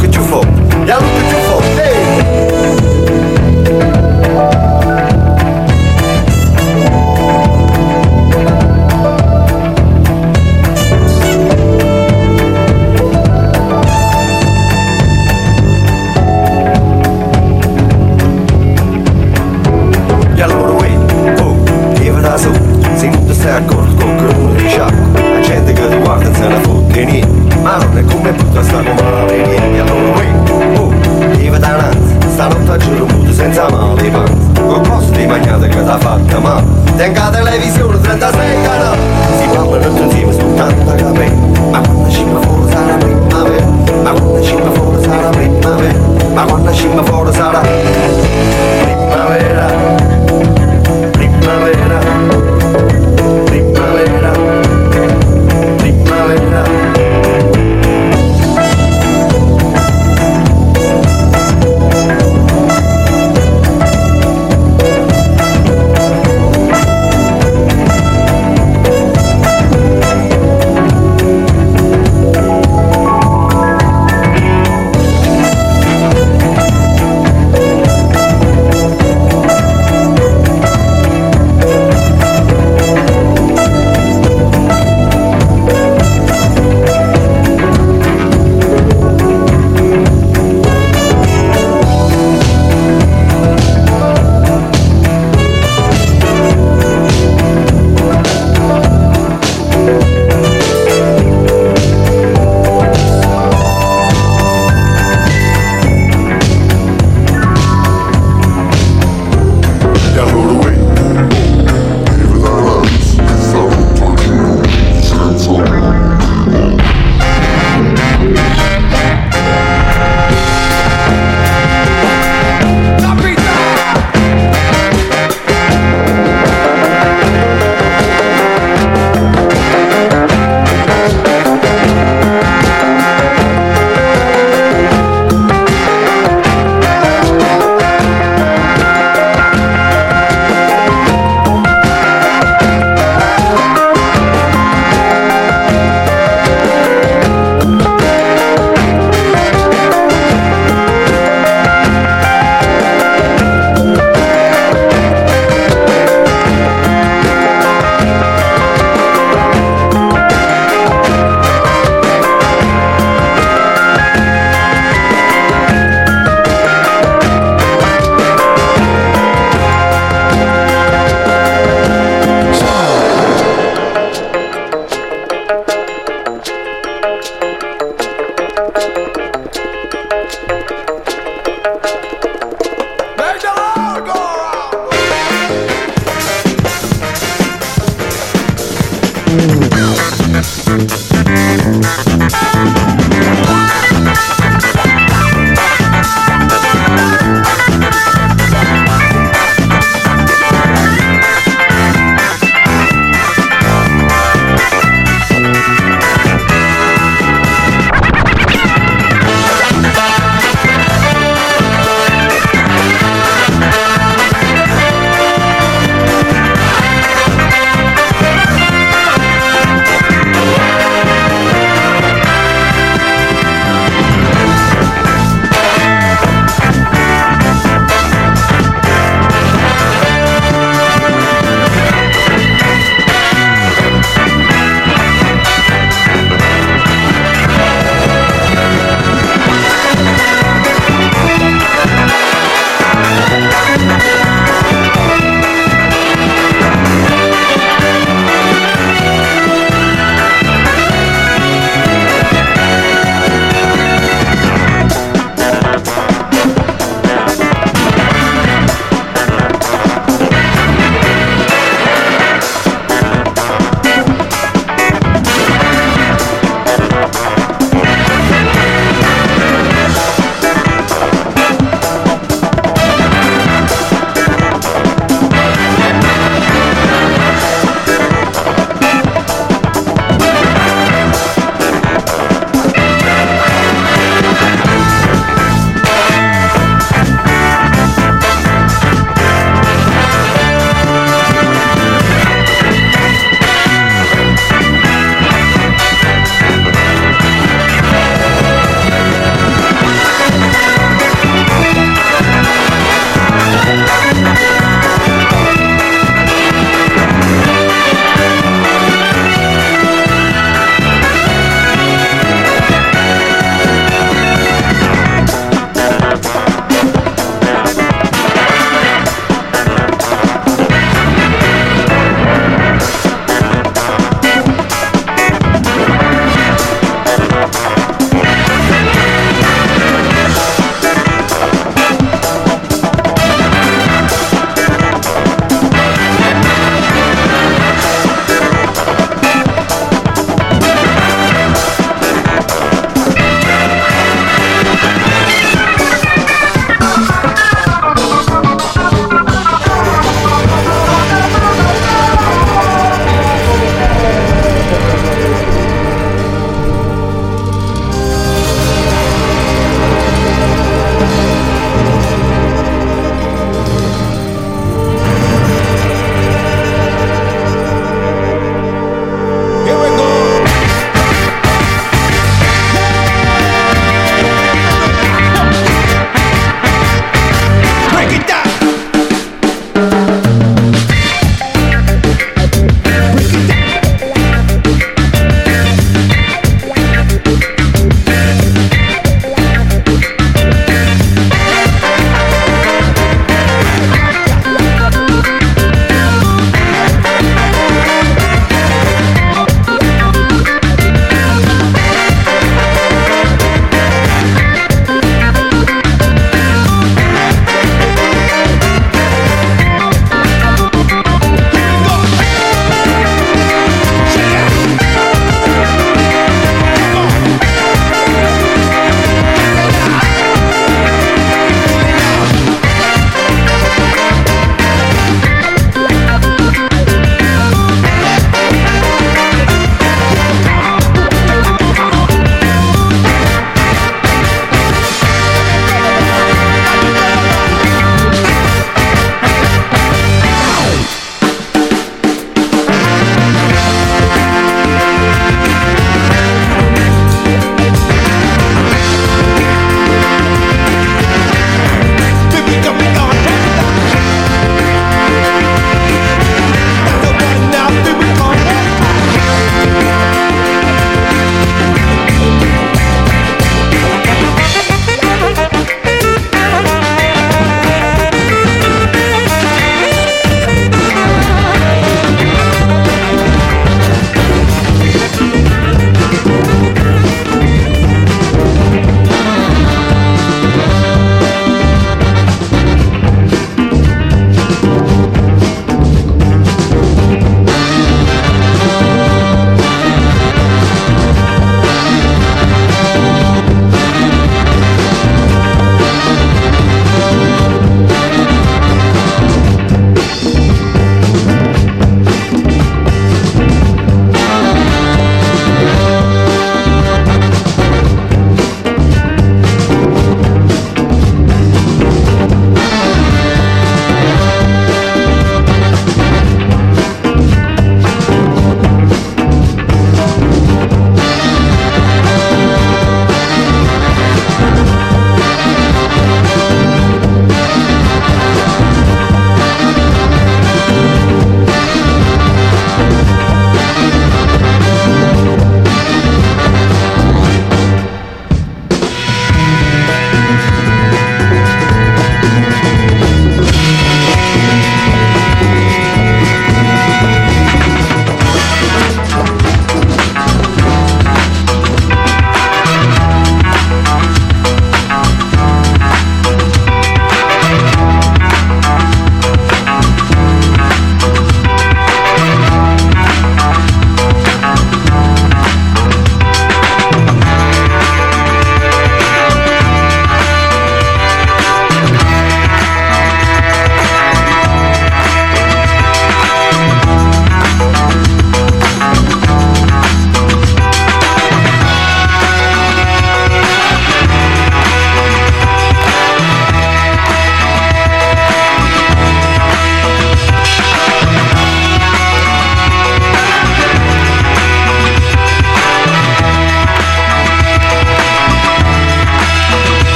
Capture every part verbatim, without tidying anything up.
che ci fa, ya lo che ci fa, ehi. Stai accorto con quello di sciacco, la gente che ti guarda se ne fotte niente, ma non è come tutta sta come la vedi, allora uè, oh,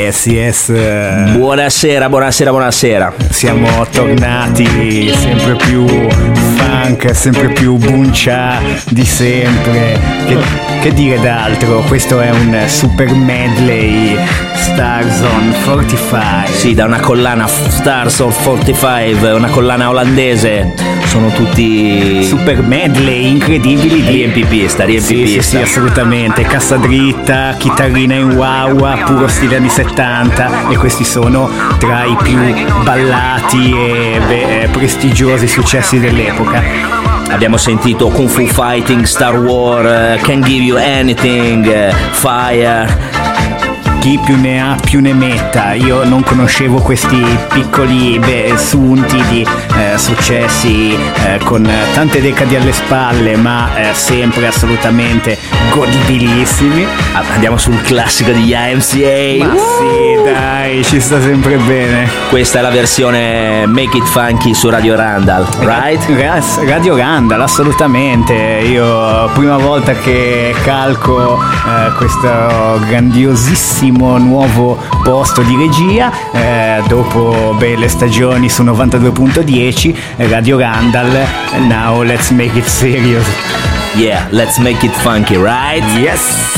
yes, yes. Buonasera, buonasera, buonasera. Siamo tornati sempre più funk, sempre più buncia di sempre. Che, che dire d'altro? Questo è un super medley Stars on quarantacinque. Sì, da una collana Stars on quarantacinque, una collana olandese. Sono tutti super medley incredibili di riempipista, riempipista. Sì, sì, sì, assolutamente. Cassa dritta, chitarrina in wah-wah, puro stile anni settanta, e questi sono tra i più ballati e beh, prestigiosi successi dell'epoca. Abbiamo sentito Kung Fu Fighting, Star Wars, uh, Can Give You Anything, uh, Fire. Chi più ne ha più ne metta. Io non conoscevo questi piccoli beh, sunti di eh, successi eh, con tante decadi alle spalle, ma eh, sempre assolutamente godibilissimi. Andiamo sul classico di Y M C A. Ma uh! sì, dai, ci sta sempre bene. Questa è la versione Make It Funky su Radio Randall, right? Radio Randall, assolutamente. Io prima volta che calco eh, questo grandiosissimo nuovo posto di regia, eh, dopo beh, le stagioni su novantadue punto dieci, Radio Randall. Now let's make it serious. Yeah, let's make it funky, right? Yes.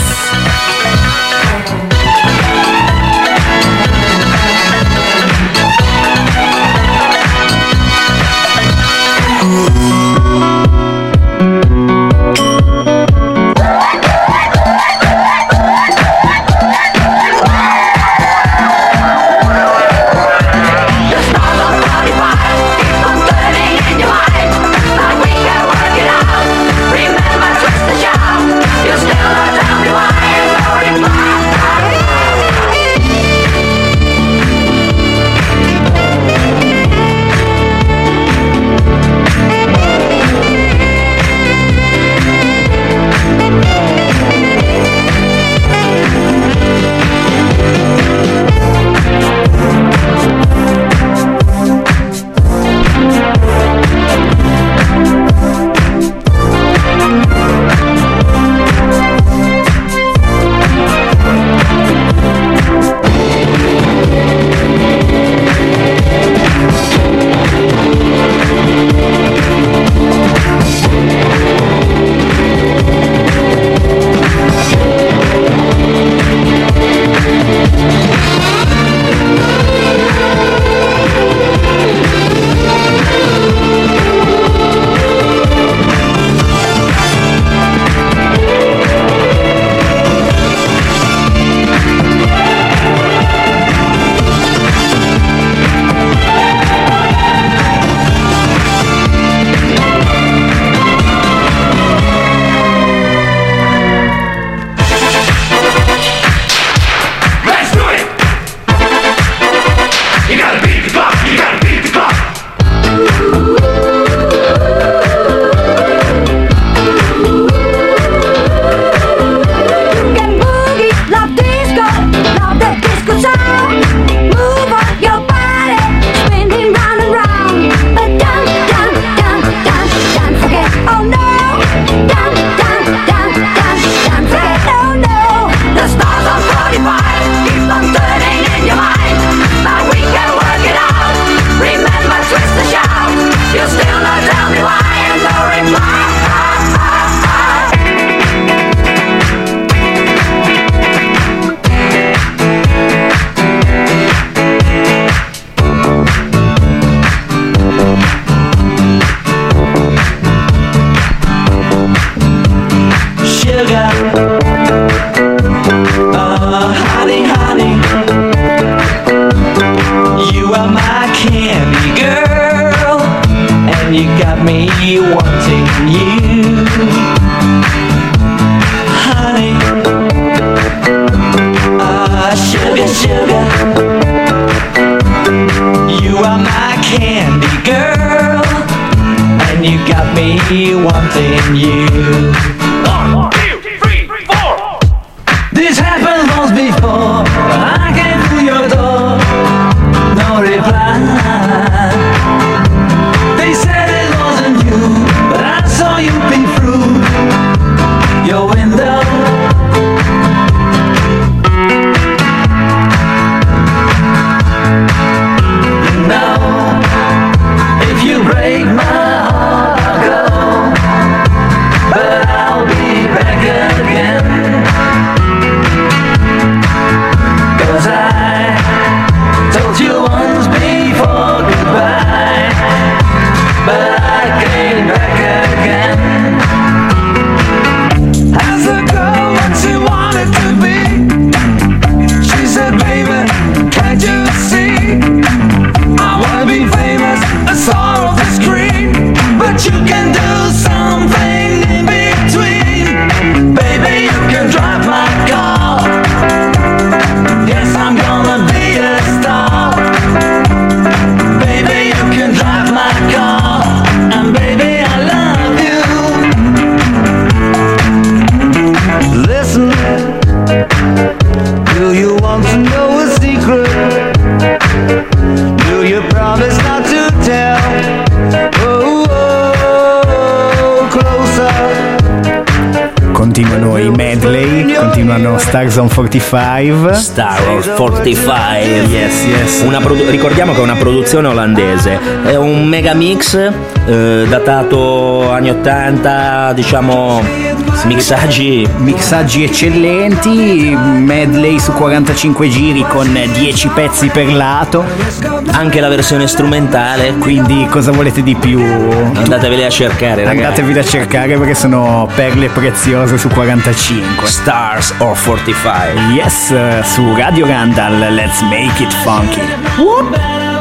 i medley, continuano Stars on quarantacinque. Star on quarantacinque. Yes, yes. Una produ- ricordiamo che è una produzione olandese, è un mega mix eh, datato anni ottanta, diciamo mixaggi mixaggi eccellenti, medley su quarantacinque giri con dieci pezzi per lato, anche la versione strumentale, quindi cosa volete di più? Andateveli a cercare, ragazzi. Andatevi a cercare perché sono perle preziose su quarantacinque. Stars on quarantacinque. Yes, su Radio Randall, let's make it funky. Whoop.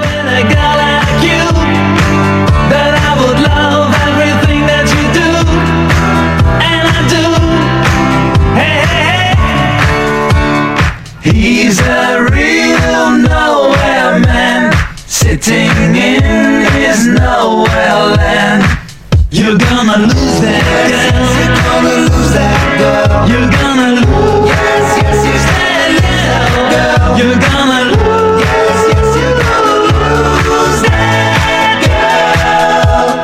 He's a real nowhere man, sitting in his nowhere land. You're gonna lose that girl. You're gonna lose that girl. You're gonna lose. Yes, yes, yes, that girl. You're gonna lose. Yes, yes, you're gonna lose that girl.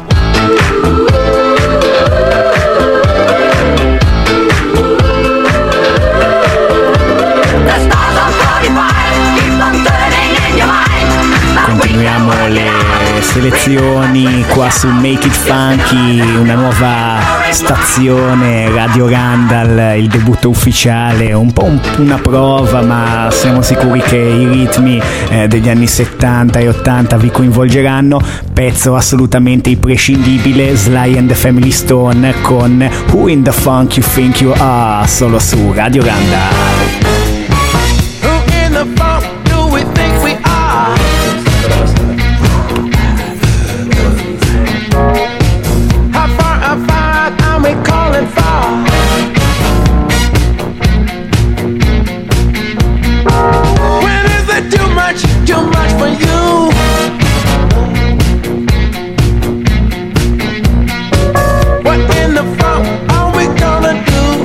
The stars on forty-five keep on turning in your mind. Continuiamo le selezioni qua su Make It Funky, una nuova stazione, Radio Randall, il debutto ufficiale, un po' un, una prova, ma siamo sicuri che i ritmi eh, degli anni settanta e ottanta vi coinvolgeranno. Pezzo assolutamente imprescindibile, Sly and the Family Stone con Who in the Funk You Think You Are, solo su Radio Randall. Who in the funk do we think we are? How far, how far are we calling for? When is it too much, too much for you? What in the funk are we gonna do?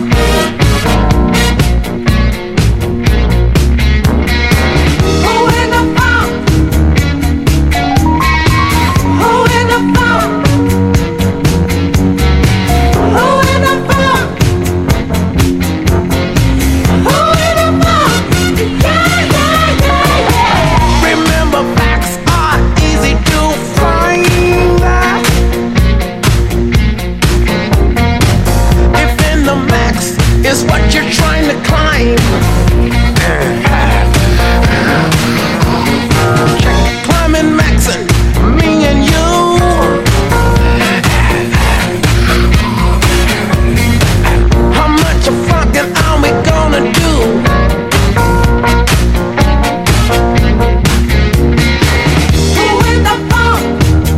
Who in the funk? Who in the funk? Who in the funk? Who in the funk? Yeah, yeah, yeah, yeah. Remember, facts are easy to find. If in the max is what you're trying to climb, check climbing maxing, me and you. How much of fucking are we gonna do? Who in the funk?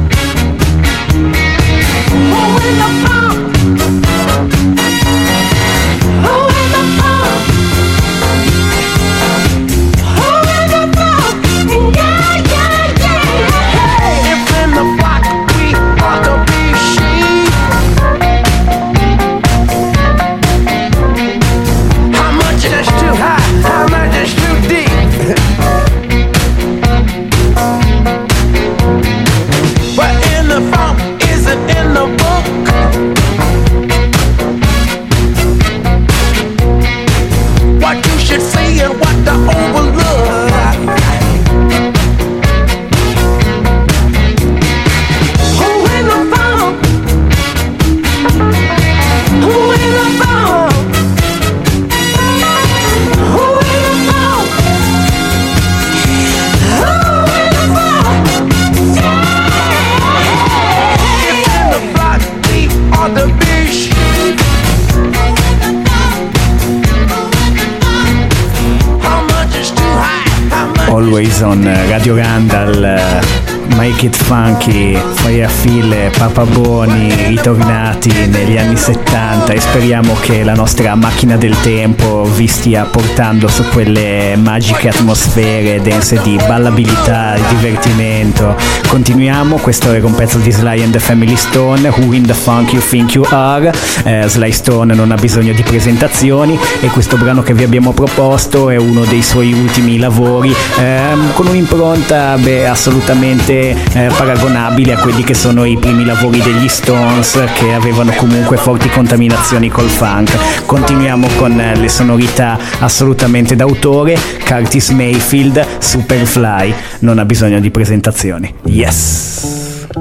Who in the funk? Who in the funk? Who in the funk? Yeah, yeah, yeah. If in the block we ought to be sheep, how much is too high? How much is too deep? What in the funk isn't in the book? What you should see and what to overlook. Who in the funk? Who in the funk? Who in the funk? Who in the funk? If in the block we ought to be sheep, how much is too high? How much? Always on Radio Randall, Make It Funky, Firefeel e Papa Boni ritornati negli anni settanta, e speriamo che la nostra macchina del tempo vi stia portando su quelle magiche atmosfere dense di ballabilità e divertimento. Continuiamo, questo era un pezzo di Sly and the Family Stone, Who in the Funk You Think You Are. eh, Sly Stone non ha bisogno di presentazioni e questo brano che vi abbiamo proposto è uno dei suoi ultimi lavori, ehm, con un'impronta beh, assolutamente niente eh, paragonabile a quelli che sono i primi lavori degli Stones, che avevano comunque forti contaminazioni col funk. Continuiamo con eh, le sonorità assolutamente d'autore. Curtis Mayfield, Superfly, non ha bisogno di presentazioni. Yes!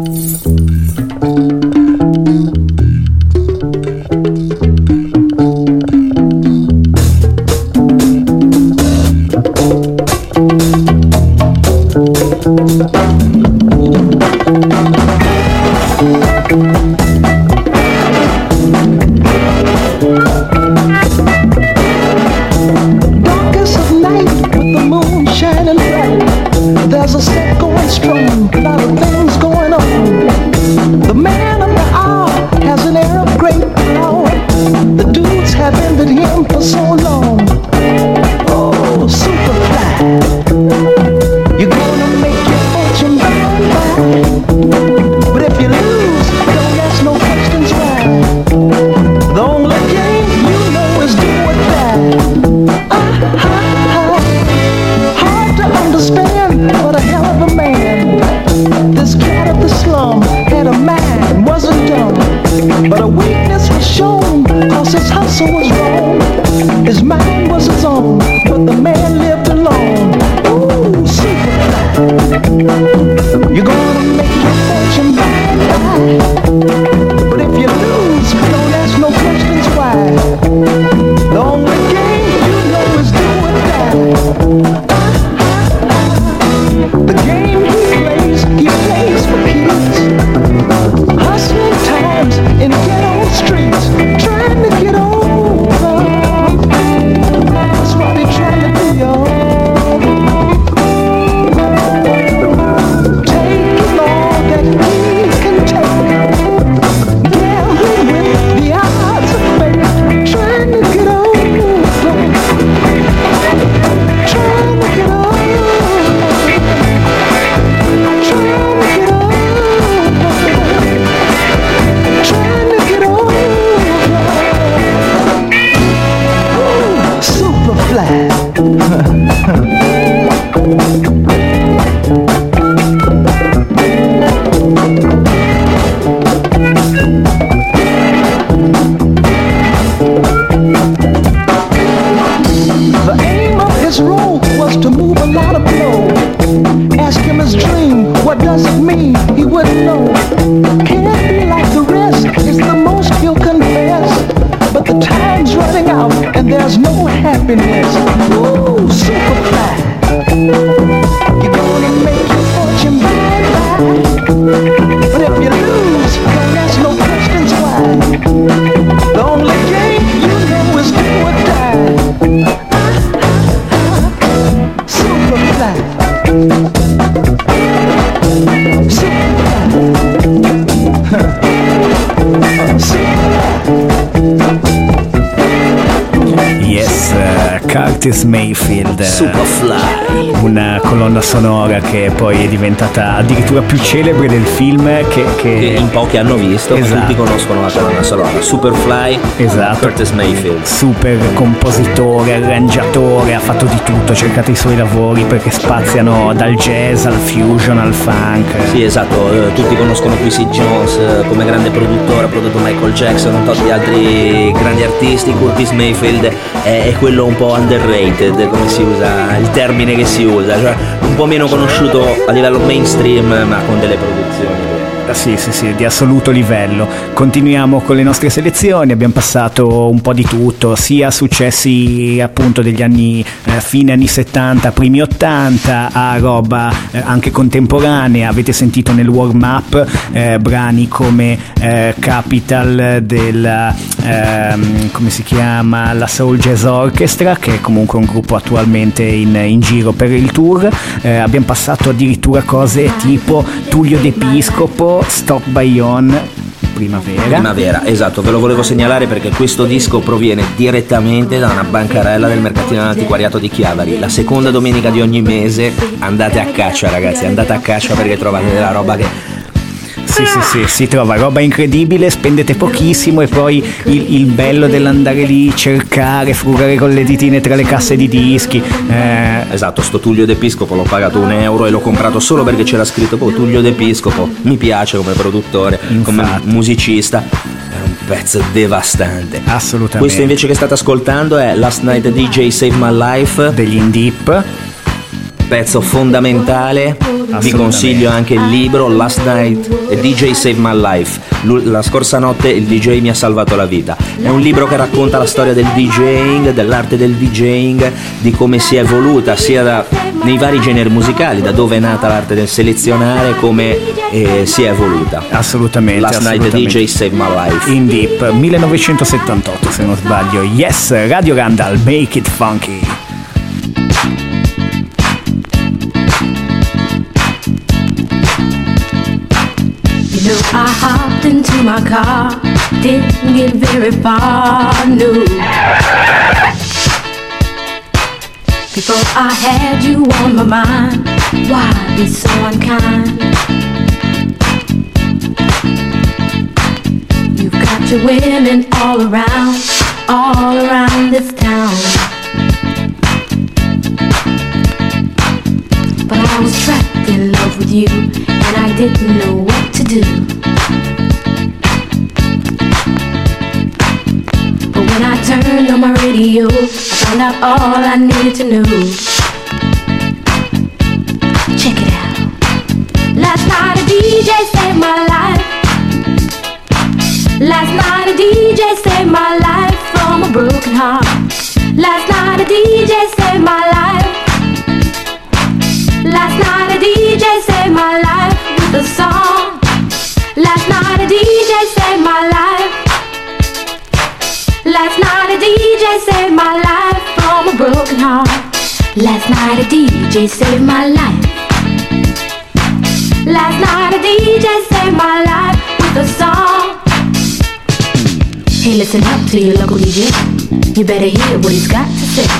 Curtis Mayfield, Superfly, una colonna sonora che poi è diventata addirittura più celebre del film che, che... che in pochi hanno visto, esatto. Tutti conoscono la colonna sonora. Superfly, esatto. Curtis Mayfield, super compositore, arrangiatore, ha fatto di tutto, cercate i suoi lavori perché spaziano dal jazz al fusion al funk. Sì, esatto, eh, tutti conoscono Quincy Jones eh, come grande produttore, ha prodotto Michael Jackson, un tot di altri grandi artisti. Curtis Mayfield è, è quello un po' underrated, come si usa il termine che si usa, cioè un po' meno conosciuto a livello mainstream, ma con delle produzioni Sì, sì, sì, di assoluto livello. Continuiamo con le nostre selezioni, abbiamo passato un po' di tutto, sia successi appunto degli anni eh, fine anni settanta, primi ottanta, a roba eh, anche contemporanea. Avete sentito nel warm up eh, brani come eh, Capital della ehm, come si chiama, la Soul Jazz Orchestra, che è comunque un gruppo attualmente in, in giro per il tour. Eh, abbiamo passato addirittura cose tipo Tullio D'Episcopo, Stop by On, Primavera. Primavera, esatto, ve lo volevo segnalare perché questo disco proviene direttamente da una bancarella del mercatino dell'antiquariato di Chiavari. La seconda domenica di ogni mese andate a caccia, ragazzi, andate a caccia perché trovate della roba che sì, sì, sì, si trova roba incredibile, spendete pochissimo e poi il, il bello dell'andare lì, cercare, frugare con le ditine tra le casse di dischi. Eh... Esatto, sto Tullio D'Episcopo l'ho pagato un euro e l'ho comprato solo perché c'era scritto oh, Tullio D'Episcopo, mi piace come produttore, Infatti. come musicista. È un pezzo devastante. Assolutamente. Questo invece che state ascoltando è Last Night D J Save My Life degli In Deep. Pezzo fondamentale. Vi consiglio anche il libro Last Night D J Save My Life. La scorsa notte il D J mi ha salvato la vita. È un libro che racconta la storia del DJing, dell'arte del DJing, di come si è evoluta sia da, nei vari generi musicali, da dove è nata l'arte del selezionare, come eh, si è evoluta. Assolutamente. Last assolutamente. Night D J Save My Life. In Deep millenovecentosettantotto se non sbaglio. Yes, Radio Randall, make it funky. You know, I hopped into my car, didn't get very far, no. Before I had you on my mind, why be so unkind? You've got your women all around, all around this town. But I was trapped in love with you, and I didn't know what to do. But when I turned on my radio, I found out all I needed to know. Check it out. Last night a D J saved my life. Last night a D J saved my life from a broken heart. Last night a D J saved my life. Last night a D J saved my life with a song. Last night a D J saved my life. Last night a D J saved my life from a broken heart. Last night a D J saved my life. Last night a D J saved my life with a song. Hey, listen up to your local D J. You better hear what he's got to say.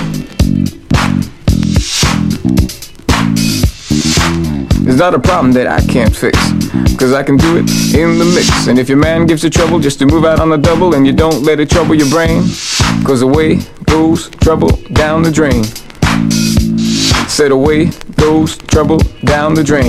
There's not a problem that I can't fix, cause I can do it in the mix. And if your man gives you trouble just to move out on the double, and you don't let it trouble your brain, cause away goes trouble down the drain. Said away goes trouble down the drain.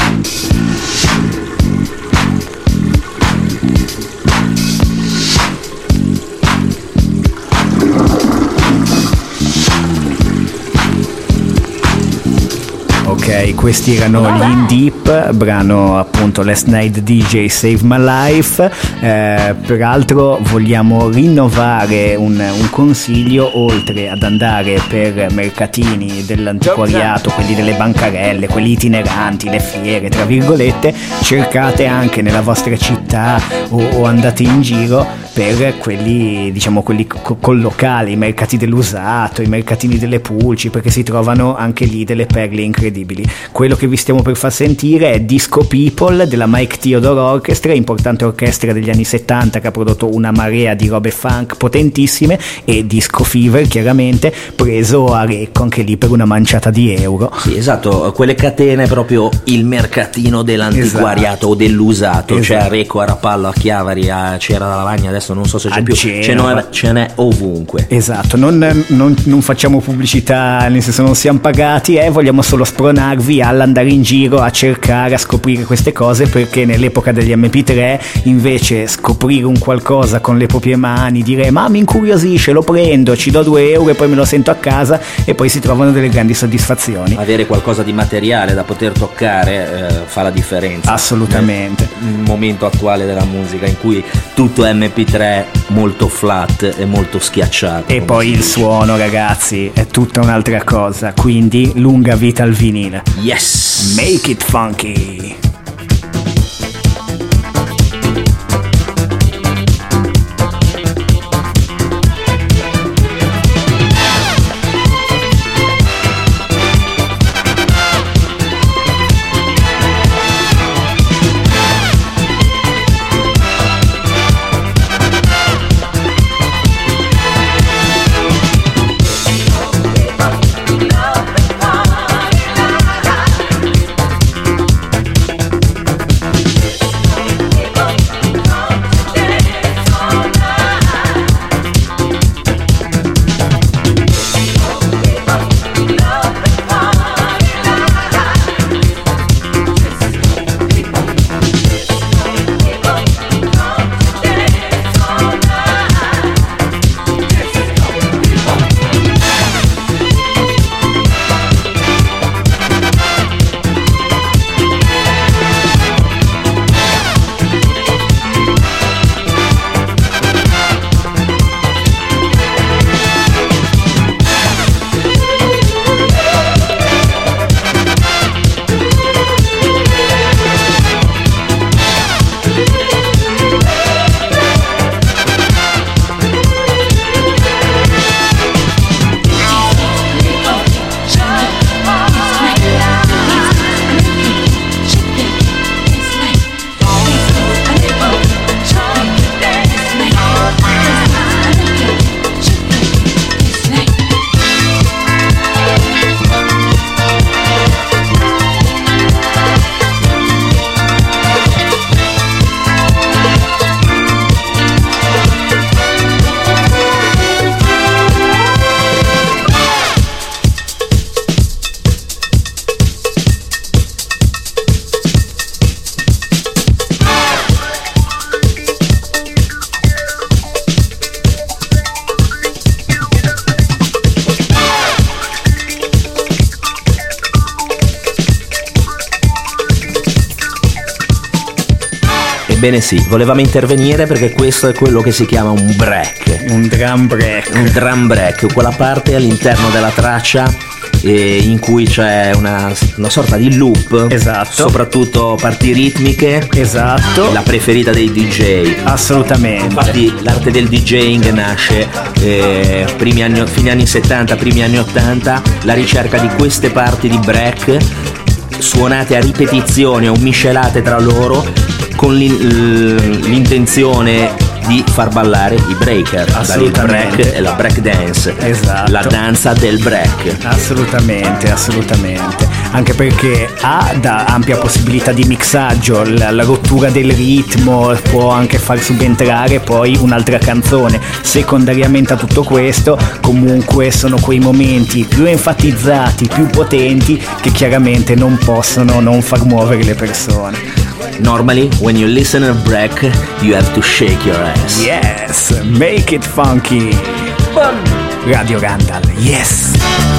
Ok, questi erano gli In Deep, brano appunto Last Night D J Save My Life. Eh, peraltro vogliamo rinnovare un, un consiglio: oltre ad andare per mercatini dell'antiquariato, quelli delle bancarelle, quelli itineranti, le fiere tra virgolette, cercate anche nella vostra città o, o andate in giro per quelli, diciamo, quelli co- collocali, i mercati dell'usato, i mercatini delle pulci, perché si trovano anche lì delle perle incredibili. Quello che vi stiamo per far sentire è Disco People della Mike Theodore Orchestra, importante orchestra degli anni settanta che ha prodotto una marea di robe funk potentissime, e Disco Fever chiaramente preso a Recco anche lì per una manciata di euro. Sì, esatto, quelle catene, proprio il mercatino dell'antiquariato, esatto, o dell'usato, esatto. C'è a Recco, a Rapallo, a Chiavari, a Cera della Lavagna, adesso non so se c'è a più, Genova. ce n'è, ce n'è ovunque. Esatto, non, non, non facciamo pubblicità, nel senso non siamo pagati, eh, vogliamo solo spronarvi all'andare in giro a cercare, a scoprire queste cose, perché nell'epoca degli emme pi tre invece scoprire un qualcosa con le proprie mani, dire ma mi incuriosisce, lo prendo, ci do due euro e poi me lo sento a casa, e poi si trovano delle grandi soddisfazioni. Avere qualcosa di materiale da poter toccare eh, fa la differenza. Assolutamente. Nel momento attuale della musica in cui tutto è emme pi tre molto flat e molto schiacciato. E poi il suono, ragazzi, è tutta un'altra cosa, quindi lunga vita al vinile. Yes! Make it funky! Ebbene sì, volevamo intervenire perché questo è quello che si chiama un break. Un drum break. Un drum break, quella parte all'interno della traccia eh, in cui c'è una, una sorta di loop. Esatto. Soprattutto parti ritmiche. Esatto. La preferita dei D J. Assolutamente. Infatti l'arte del DJing nasce eh, primi anni, fine anni settanta, primi anni ottanta, la ricerca di queste parti di break suonate a ripetizione o miscelate tra loro con l'in- l'intenzione di far ballare i breaker. Assolutamente. Il break e la break dance. Esatto. La danza del break. Assolutamente, assolutamente. Anche perché ha da ampia possibilità di mixaggio, la, la rottura del ritmo può anche far subentrare poi un'altra canzone. Secondariamente a tutto questo, comunque sono quei momenti più enfatizzati, più potenti, che chiaramente non possono non far muovere le persone. Normally, when you listen to a break, you have to shake your ass. Yes, make it funky. Radio Randall, yes.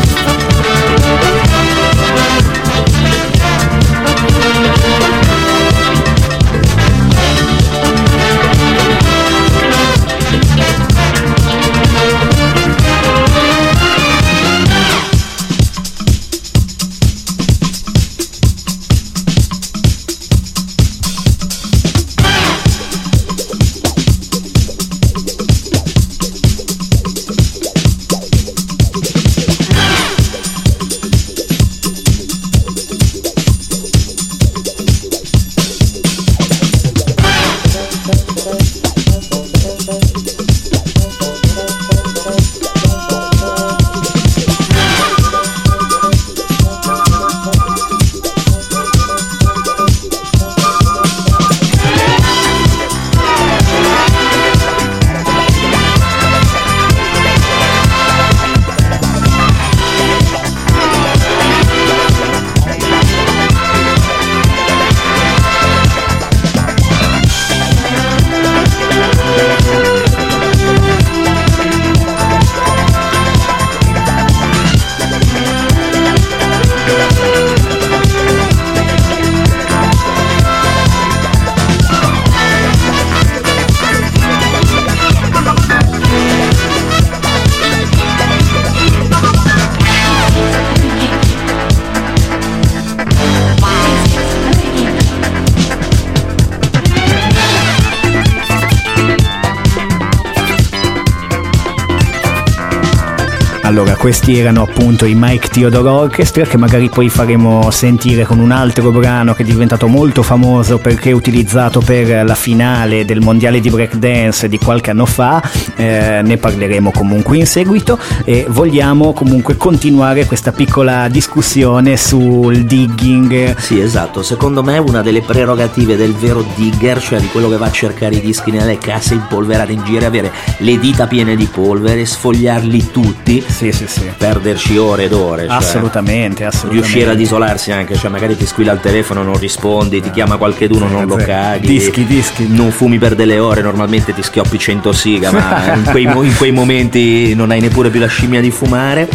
Allora, questi erano appunto i Mike Theodore Orchestra, che magari poi faremo sentire con un altro brano che è diventato molto famoso perché è utilizzato per la finale del mondiale di breakdance di qualche anno fa. Eh, ne parleremo comunque in seguito, e vogliamo comunque continuare questa piccola discussione sul digging. Sì, esatto, secondo me una delle prerogative del vero digger, cioè di quello che va a cercare i dischi nelle casse impolverate in giro, avere le dita piene di polvere, sfogliarli tutti. Sì, sì, sì. Perderci ore ed ore, cioè assolutamente, assolutamente. Riuscire ad isolarsi anche, cioè magari ti squilla il telefono, non rispondi, ti chiama qualcheduno, non lo caghi. Dischi, dischi. Non fumi per delle ore, normalmente ti schioppi cento siga, ma in quei, in quei momenti non hai neppure più la scimmia di fumare.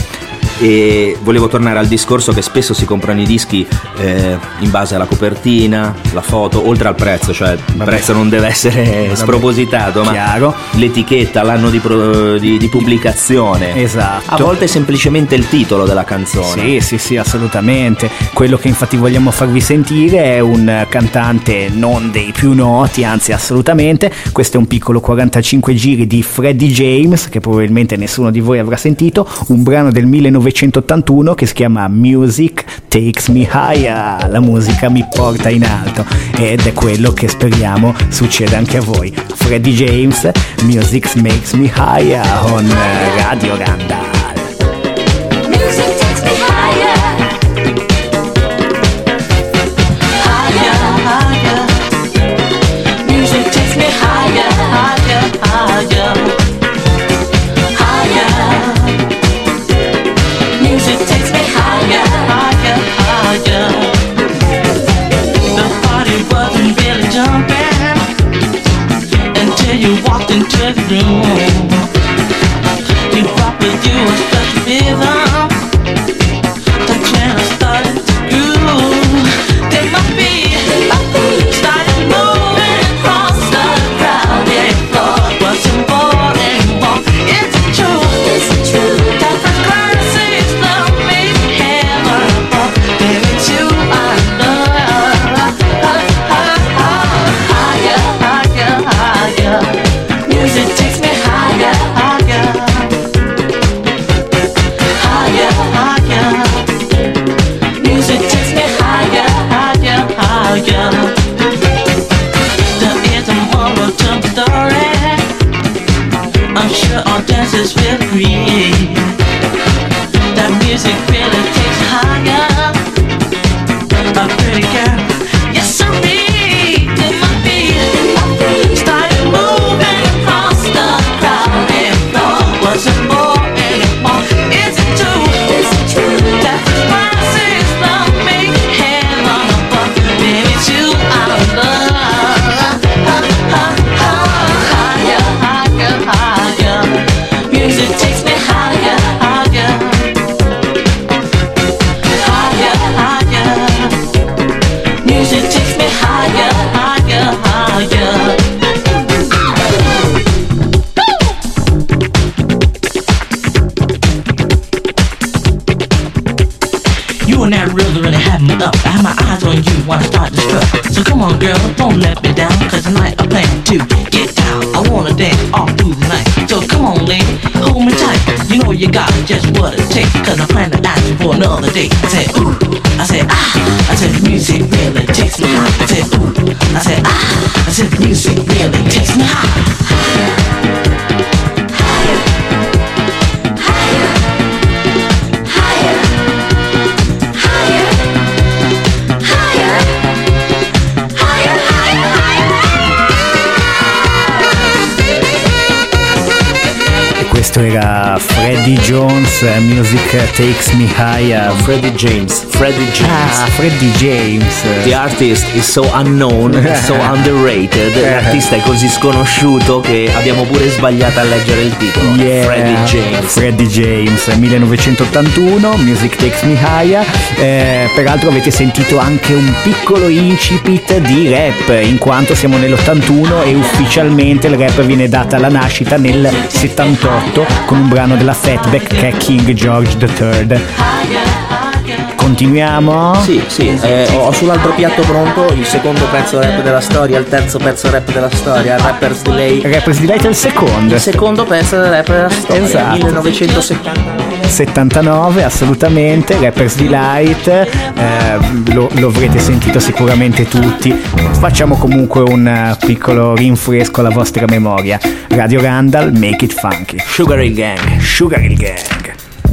E volevo tornare al discorso che spesso si comprano i dischi eh, in base alla copertina, la foto, oltre al prezzo, cioè il Vabbè. prezzo non deve essere Vabbè. spropositato, Chiaro. ma l'etichetta, l'anno di, pro, di, di pubblicazione, esatto. A volte è semplicemente il titolo della canzone. Sì, sì, sì, assolutamente. Quello che infatti vogliamo farvi sentire è un cantante non dei più noti, anzi assolutamente. Questo è un piccolo quarantacinque giri di Freddie James, che probabilmente nessuno di voi avrà sentito, un brano del millenovecentottantuno che si chiama Music Takes Me Higher, la musica mi porta in alto, ed è quello che speriamo succeda anche a voi. Freddie James, Music Makes Me Higher on Radio Randall. Music takes me higher, higher, higher. Music takes me higher, higher, higher, higher. Music takes me higher, higher, higher. The party wasn't really jumping until you walked into the room. You thought that you were such a rhythm, the channel started to groove. They might be started moving from come on girl, don't let me down, cause tonight I plan to get down. I wanna dance all through the night. So come on lady, hold me tight. You know you got just what it takes, cause I plan to ask you for another date. I said ooh, I said ah, I said the music really takes me high. I said ooh, I said ah, I said the music really takes me high. Questo era Freddie Jones, Music Takes Me Higher. No, Freddie James. Freddie James. Ah, Freddie James. The artist is so unknown, so underrated. L'artista è così sconosciuto che abbiamo pure sbagliato a leggere il titolo. Yeah. Freddie James. Freddie James, millenovecentottantuno, Music Takes Me Higher. Eh, peraltro avete sentito anche un piccolo incipit di rap, in quanto siamo nell'ottantuno e ufficialmente il rap viene data la nascita nel settantotto con un brano della Fatback che è King George the Third. Continuiamo? Sì, sì, eh, ho sull'altro piatto pronto il secondo pezzo rap della storia, il terzo pezzo rap della storia, Rapper's Delay. Rapper's Delight è il secondo. Il secondo pezzo del rap della storia, esatto. millenovecentosettantanove. Assolutamente, Rapper's Delight, eh, lo, lo avrete sentito sicuramente tutti. Facciamo comunque un piccolo rinfresco alla vostra memoria. Radio Randall, Make It Funky. Sugar Hill Gang. Sugar Hill Gang.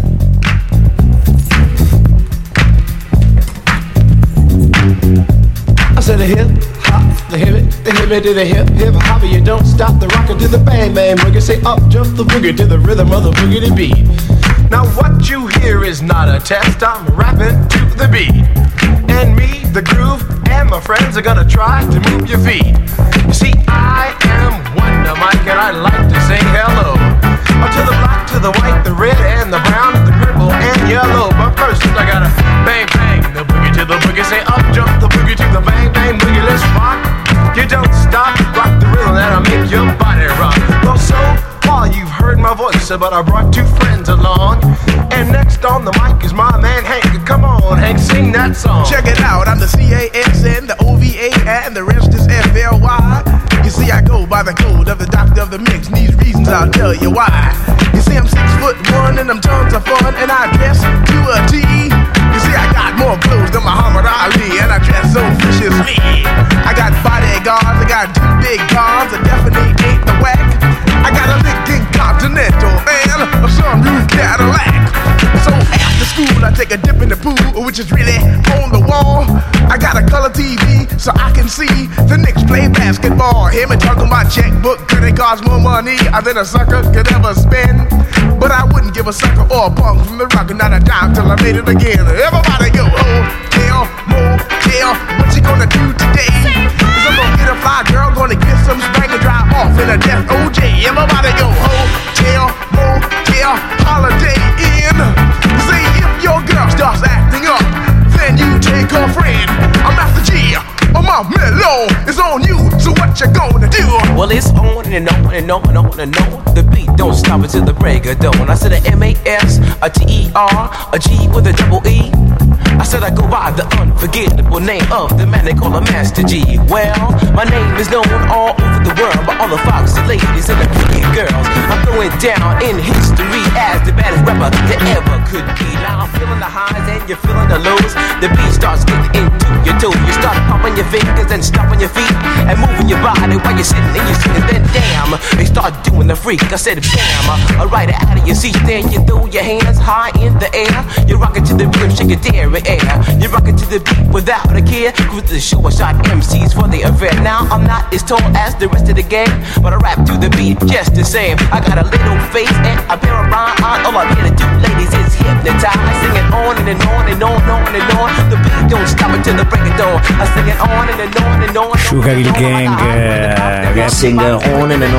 I said a hip hop, the hip it, the hip it to the hip hip hop. You don't stop the rocker to the bang bang boogie. Say up jump the boogie to the rhythm of the boogie beat. Now what you hear is not a test. I'm rapping to the beat, and me, the groove, and my friends are gonna try to move your feet. You see, I am Wonder Mike, and I like to say hello to the black, to the white, the red, and the brown, the purple, and yellow. But first, I gotta bang bang the boogie to the boogie. Say up jump the boogie to the bang bang boogie. Let's rock. You don't stop, rock the rhythm that'll make your body rock. Well, so far you've heard my voice, but I brought two friends along. And next on the mic is my man Hank. Come on, Hank, sing that song. Check it out, I'm the C A S N, the O V A, and the rest is F L Y. You see, I go by the code of the doctor of the mix, and these reasons I'll tell you why. You see, I'm six foot one, and I'm tons of fun, and I dress to a T. You see, I got more clothes than Muhammad Ali, and I dress so viciously. I got bodyguards, I got two big cars, I definitely ain't the whack. I got a Lincoln Continental and a sunroof Cadillac. So after school, I take a dip in the pool, which is really on the wall. I got a color T V so I can see the Knicks play basketball. Hear me talking my checkbook, cause it costs more money than a sucker could ever spend. But I wouldn't give a sucker or a punk from the rock, not a dime till I made it again. Everybody go, hotel, motel, what you gonna do today? Cause I'm gonna get a fly girl, gonna get some spank and drive off in a death O J. Everybody go, hotel, motel, holiday inn. See if your girl starts acting up, then you take her friend. I'm Master G, oh my mellow is on you, so what you gonna do? Well, it's on and on and on and on and on. The beat don't stop until the break of dawn. I said a M A S, a T E R, a G with a double E. I said I go by the unforgettable name of the man they call a Master G. Well, my name is known all over the world by all the foxy ladies and the pretty girls. I'm going down in history as the baddest rapper that ever could be. Now I'm feeling the highs and you're feeling the lows. The beat starts getting into your toe. You start pumping your fingers and stomping your feet and moving your body while you're sitting and you're sitting. Then damn, they start doing the freak. I said bam, alright out of your seat. Then you throw your hands high in the air. You're rocking to the rhythm, shake your dairy air. You're rocking to the beat without a care. Cruise the show, I shot M Cs for the affair. Now I'm not as tall as the rest of the gang, but I rap to the beat just the same. I got a little face and a pair of rhyme on. All I'm here to do, ladies, is hypnotize. Sing it on and, and on and on and on and on. The beat don't stop until the break of dawn. I sing it on and, and on and on. Sugar Hill Gang, uh, Sing on and, and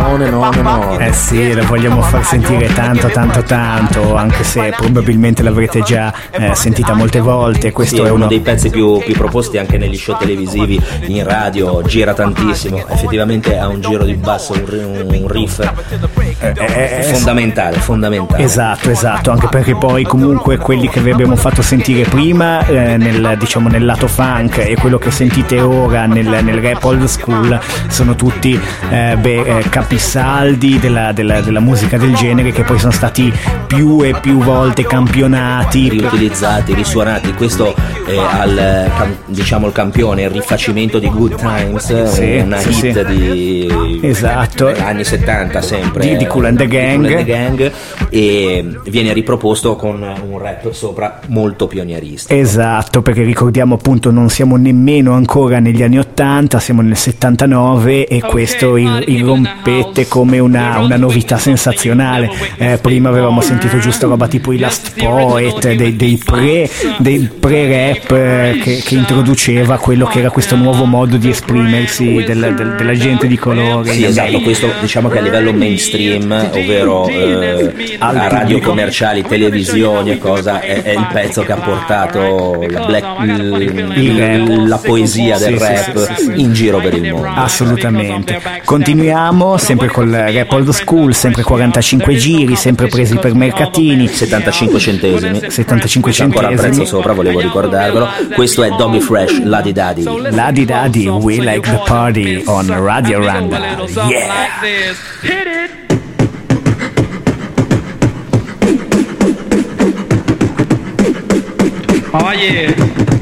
on and on and on. Eh sì, lo vogliamo far sentire tanto tanto tanto, anche se probabilmente l'avrete già eh, sentita molte volte. Questo sì, è è uno, uno dei pezzi più, più proposti anche negli show televisivi, in radio, gira tantissimo, effettivamente ha un giro di basso, un, un riff eh, eh, fondamentale, fondamentale. Esatto, esatto, anche perché poi comunque quelli che vi abbiamo fatto sentire prima eh, nel, diciamo, nel lato funk e quello che sentite ora nel, nel rap old school sono tutti eh, beh, eh, capisaldi della, della, della musica del genere, che poi sono stati più e più volte campionati, riutilizzati, risuonati. Questo è al, diciamo, il campione, il rifacimento di Good Times, sì, una sì, hit sì. di esatto. anni settanta sempre di, di Kool and the Gang. Kool and the Gang, e viene riproposto con un rap sopra molto pionieristico. Esatto, perché ricordiamo appunto non siamo nemmeno ancora negli anni ottanta, siamo nel settantanove e questo il, il rompete come una, una novità sensazionale. Eh, prima avevamo sentito giusto roba tipo i Last Poet, dei, dei pre dei pre-rap eh, che, che introduceva quello che era questo nuovo modo di esprimersi del, del, della gente di colore. Sì, esatto, questo diciamo che a livello mainstream, ovvero eh, a radio commerciali, televisioni e cosa, è, è il pezzo che ha portato la, black, il, il, la poesia del sì, rap sì, sì, sì. in giro per il mondo. Assolutamente. Continuiamo sempre col rap old school, sempre quarantacinque giri, sempre presi per mercatini, settantacinque centesimi, settantacinque c'è ancora il prezzo sopra, volevo ricordarvelo. Questo è Doggy Fresh, Ladi Dadi. Ladi Dadi, We Like the Party on Radio Randa. Yeah. Oh yeah.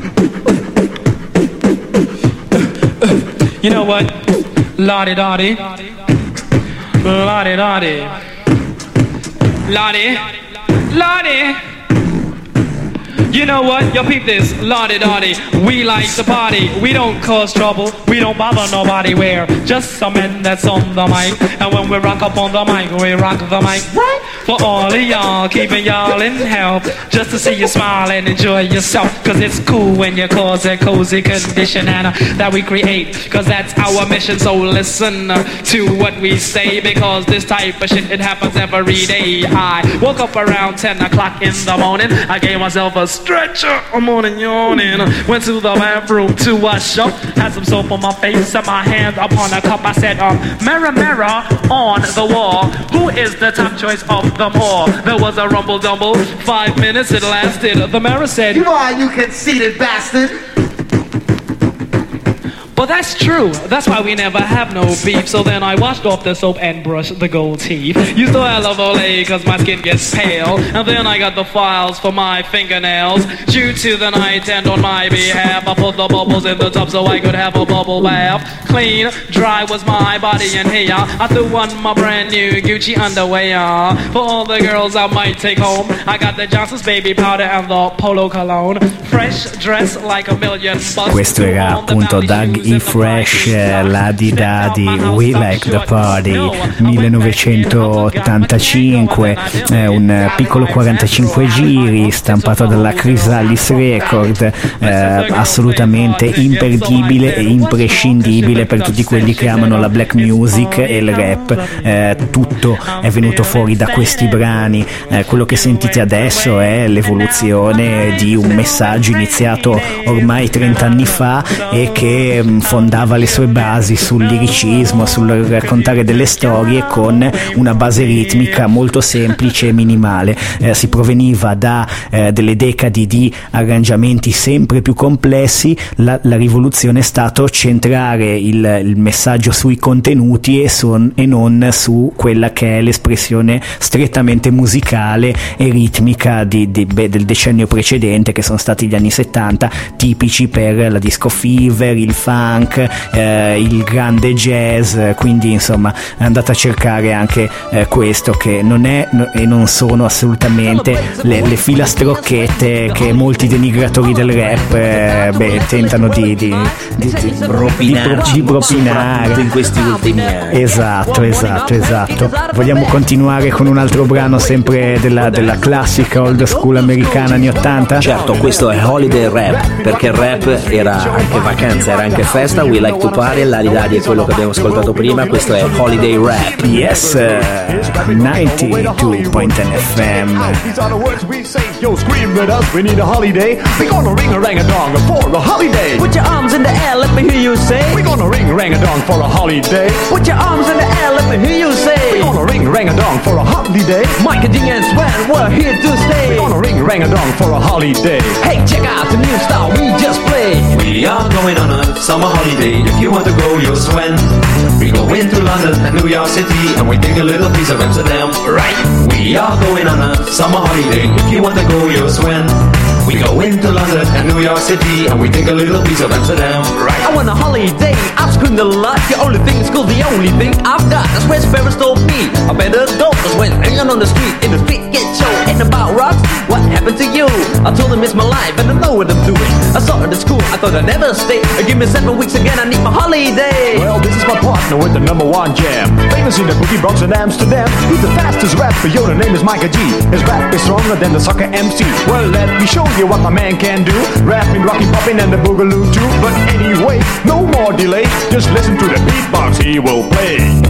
You know what? Lottie Dottie. Lottie Dottie. Lottie. Lottie. You know what? Yo, peep this. Lottie Dottie. We like to party. We don't cause trouble. We don't bother nobody. We're just some men that's on the mic. And when we rock up on the mic, we rock the mic. Right? For all of y'all, keeping y'all in health. Just to see you smile and enjoy yourself. Cause it's cool when you cause a cozy condition and uh, that we create. Cause that's our mission. So listen uh, to what we say. Because this type of shit, it happens every day. I woke up around ten o'clock in the morning. I gave myself a stretcher, I'm on and yawning. Went to the bathroom to wash up. Had some soap on my face and my hands upon a cup. I said, um, mirror, mirror on the wall, who is the top choice of them all? There was a rumble dumble, five minutes it lasted. The mirror said, you are, you conceited bastard. Well, that's true. That's why we never have no beef. So then I washed off the soap and brushed the gold teeth. Used to have Olay cause my skin gets pale. And then I got the files for my fingernails. Due to the night and on my behalf, I put the bubbles in the tub so I could have a bubble bath. Clean, dry was my body in here. I threw on my brand new Gucci underwear. For all the girls I might take home, I got the Johnson's baby powder and the Polo cologne. Fresh dress like a million bucks. Questo era appunto Doug E. Fresh, Ladi Dadi, We Like the Party, millenovecentottantacinque, eh, un piccolo quarantacinque giri stampato dalla Chrysalis Record, eh, assolutamente imperdibile e imprescindibile per tutti quelli che amano la black music e il rap. Eh, tutto è venuto fuori da questi brani. Eh, quello che sentite adesso è l'evoluzione di un messaggio iniziato ormai trenta anni fa e che mh, fondava le sue basi sul liricismo, sul raccontare delle storie con una base ritmica molto semplice e minimale. Eh, si proveniva da eh, delle decadi di arrangiamenti sempre più complessi. La, la rivoluzione è stato centrare il, il messaggio sui contenuti e, son, e non su quella che è l'espressione strettamente musicale e ritmica di, di, beh, del decennio precedente, che sono stati gli anni settanta, tipici per la disco fever, il funk, eh, il grande jazz. Quindi insomma andate a cercare anche eh, questo, che non è no, e non sono assolutamente le, le filastrocchette che molti denigratori del rap eh, beh, tentano di, di, di, di, propinarci di, di propinare in questi ultimi anni. Esatto, esatto, esatto. Vogliamo continuare con un altro brano sempre della, della classica old school americana anni ottanta? Certo, questo è Holiday Rap, perché il rap era anche vacanza, era anche festa. festa, We Like to Party, l'Aridadi è quello che abbiamo ascoltato prima, questo è Holiday Rap. Yes, ninety-two point ten F M. These are the words we say. Yo, scream with us, we need a holiday. We gonna ring a rang a dong for a holiday. Put your arms in the air, let me hear you say. We gonna ring a rang a dong for a holiday. Put your arms in the air, let me hear you say. We gonna ring a rang a dong for a holiday. Mike and Ding and Sven, we're here to stay. We gonna ring a rang a dong for a holiday. Hey, check out the new style we just played. We are going on a summer holiday. If you want to go, you'll swim. We go into London and New York City, and we take a little piece of Amsterdam, right? We are going on a summer holiday. If you want to go, you'll swim. We go into London and New York City, and we take a little piece of Amsterdam, right? I want a holiday, I've screamed a lot. The only thing is cool, the only thing I've got. That's where Sparrows told me I better go. Cause when hanging on the street, in the street get show. Ain't about rocks, what happened to you? I told him it's my life and I know what I'm doing. I saw it at school, I thought I'd never stay. Give me seven weeks again, I need my holiday. Well, this is my partner with the number one jam. Famous in the boogie Bronx and Amsterdam. He's the fastest rapper, yo, the name is Micah G. His rap is stronger than the soccer M C. Well, let me show you what my man can do. Rapping, rocking, popping, and the boogaloo too. But anyway, no more delay. Just listen to the beatbox he will play.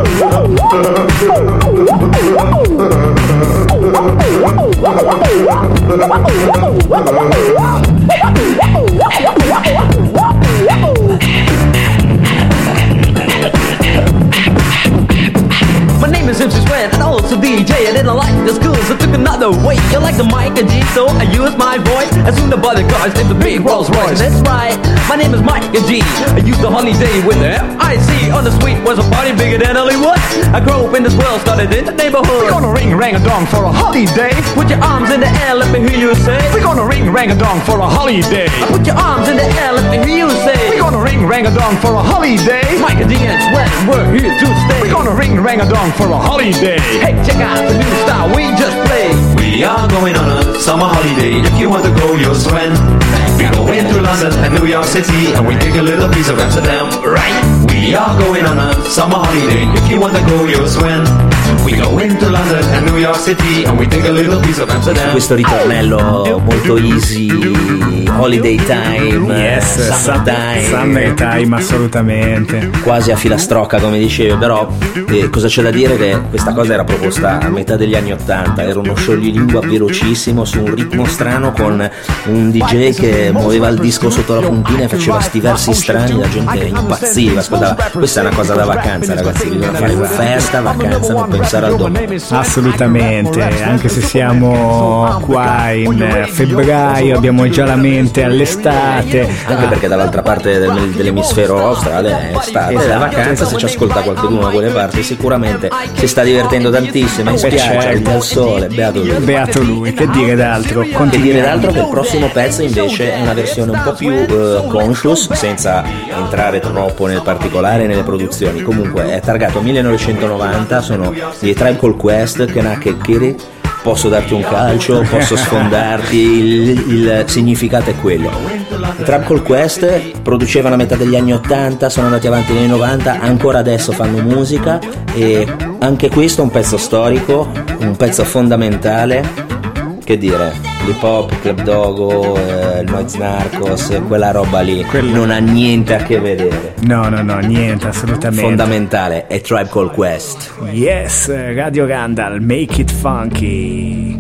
My name is M C Sven and also D J. I didn't like the school, so took another way. You like the mic and G, so I used my voice. As soon as the cars named the big Rolls Royce. That's right, my name is Mike and G. I used the holiday with the F I C. On the street was a party bigger than Hollywood. I grew up in this world, started in the neighborhood. We're gonna ring rang a dong for a holiday. Put your arms in the air, let me hear you say. We're gonna ring rang a dong for a holiday. Put your arms in the air, let me hear you say. We're gonna ring rang a dong for a holiday. Mike and D and Sven, we're here to stay. We're gonna ring rang a dong for a holiday. Hey, check out the new style we just played. We are going on a summer holiday. If you want to go, you'll swim. We go into London and New York City, and we take a little piece of Amsterdam, right? We are going on a summer holiday. If you want to go, you'll swim. We go into London and New York City, and we take a little piece of Amsterdam. Questo ritornello molto easy, holiday time, yes, summer time, summer time, assolutamente. Quasi a filastrocca, come dicevo, però eh, cosa c'è da dire che questa cosa era proposta a metà degli anni ottanta, era uno scioglilingua velocissimo su un ritmo strano con un D J che muoveva il disco sotto la puntina e faceva sti versi strani, la gente impazziva, ascoltava. Questa è una cosa da vacanza, ragazzi, bisogna fare festa, vacanza, non pensare al domani. Assolutamente, anche se siamo qua in febbraio, abbiamo già la mente all'estate. Anche perché dall'altra parte del, dell'emisfero australe è estate, esatto, è vacanza, se ci ascolta qualcuno da quelle parti sicuramente si sta divertendo tantissimo, in spiaggia, al sole, beato lui. Beato lui, che dire d'altro? Che dire d'altro che il prossimo pezzo invece è una versione un po' più uh, conscious, senza entrare troppo nel particolare nelle produzioni. Comunque è targato millenovecentonovanta, sono i Tribe Called Quest, che nacque Kiri. Posso darti un calcio, posso sfondarti, il, il significato è quello. I Tribe Called Quest producevano a metà degli anni ottanta, sono andati avanti negli novanta, ancora adesso fanno musica, e anche questo è un pezzo storico, un pezzo fondamentale. Che dire, l'hip hop, Club Dogo, eh, il Noise Narcos, quella roba lì Quello... non ha niente a che vedere. No, no, no, niente, assolutamente. Fondamentale è Tribe Called Quest. Yes, Radio Randall, make it funky.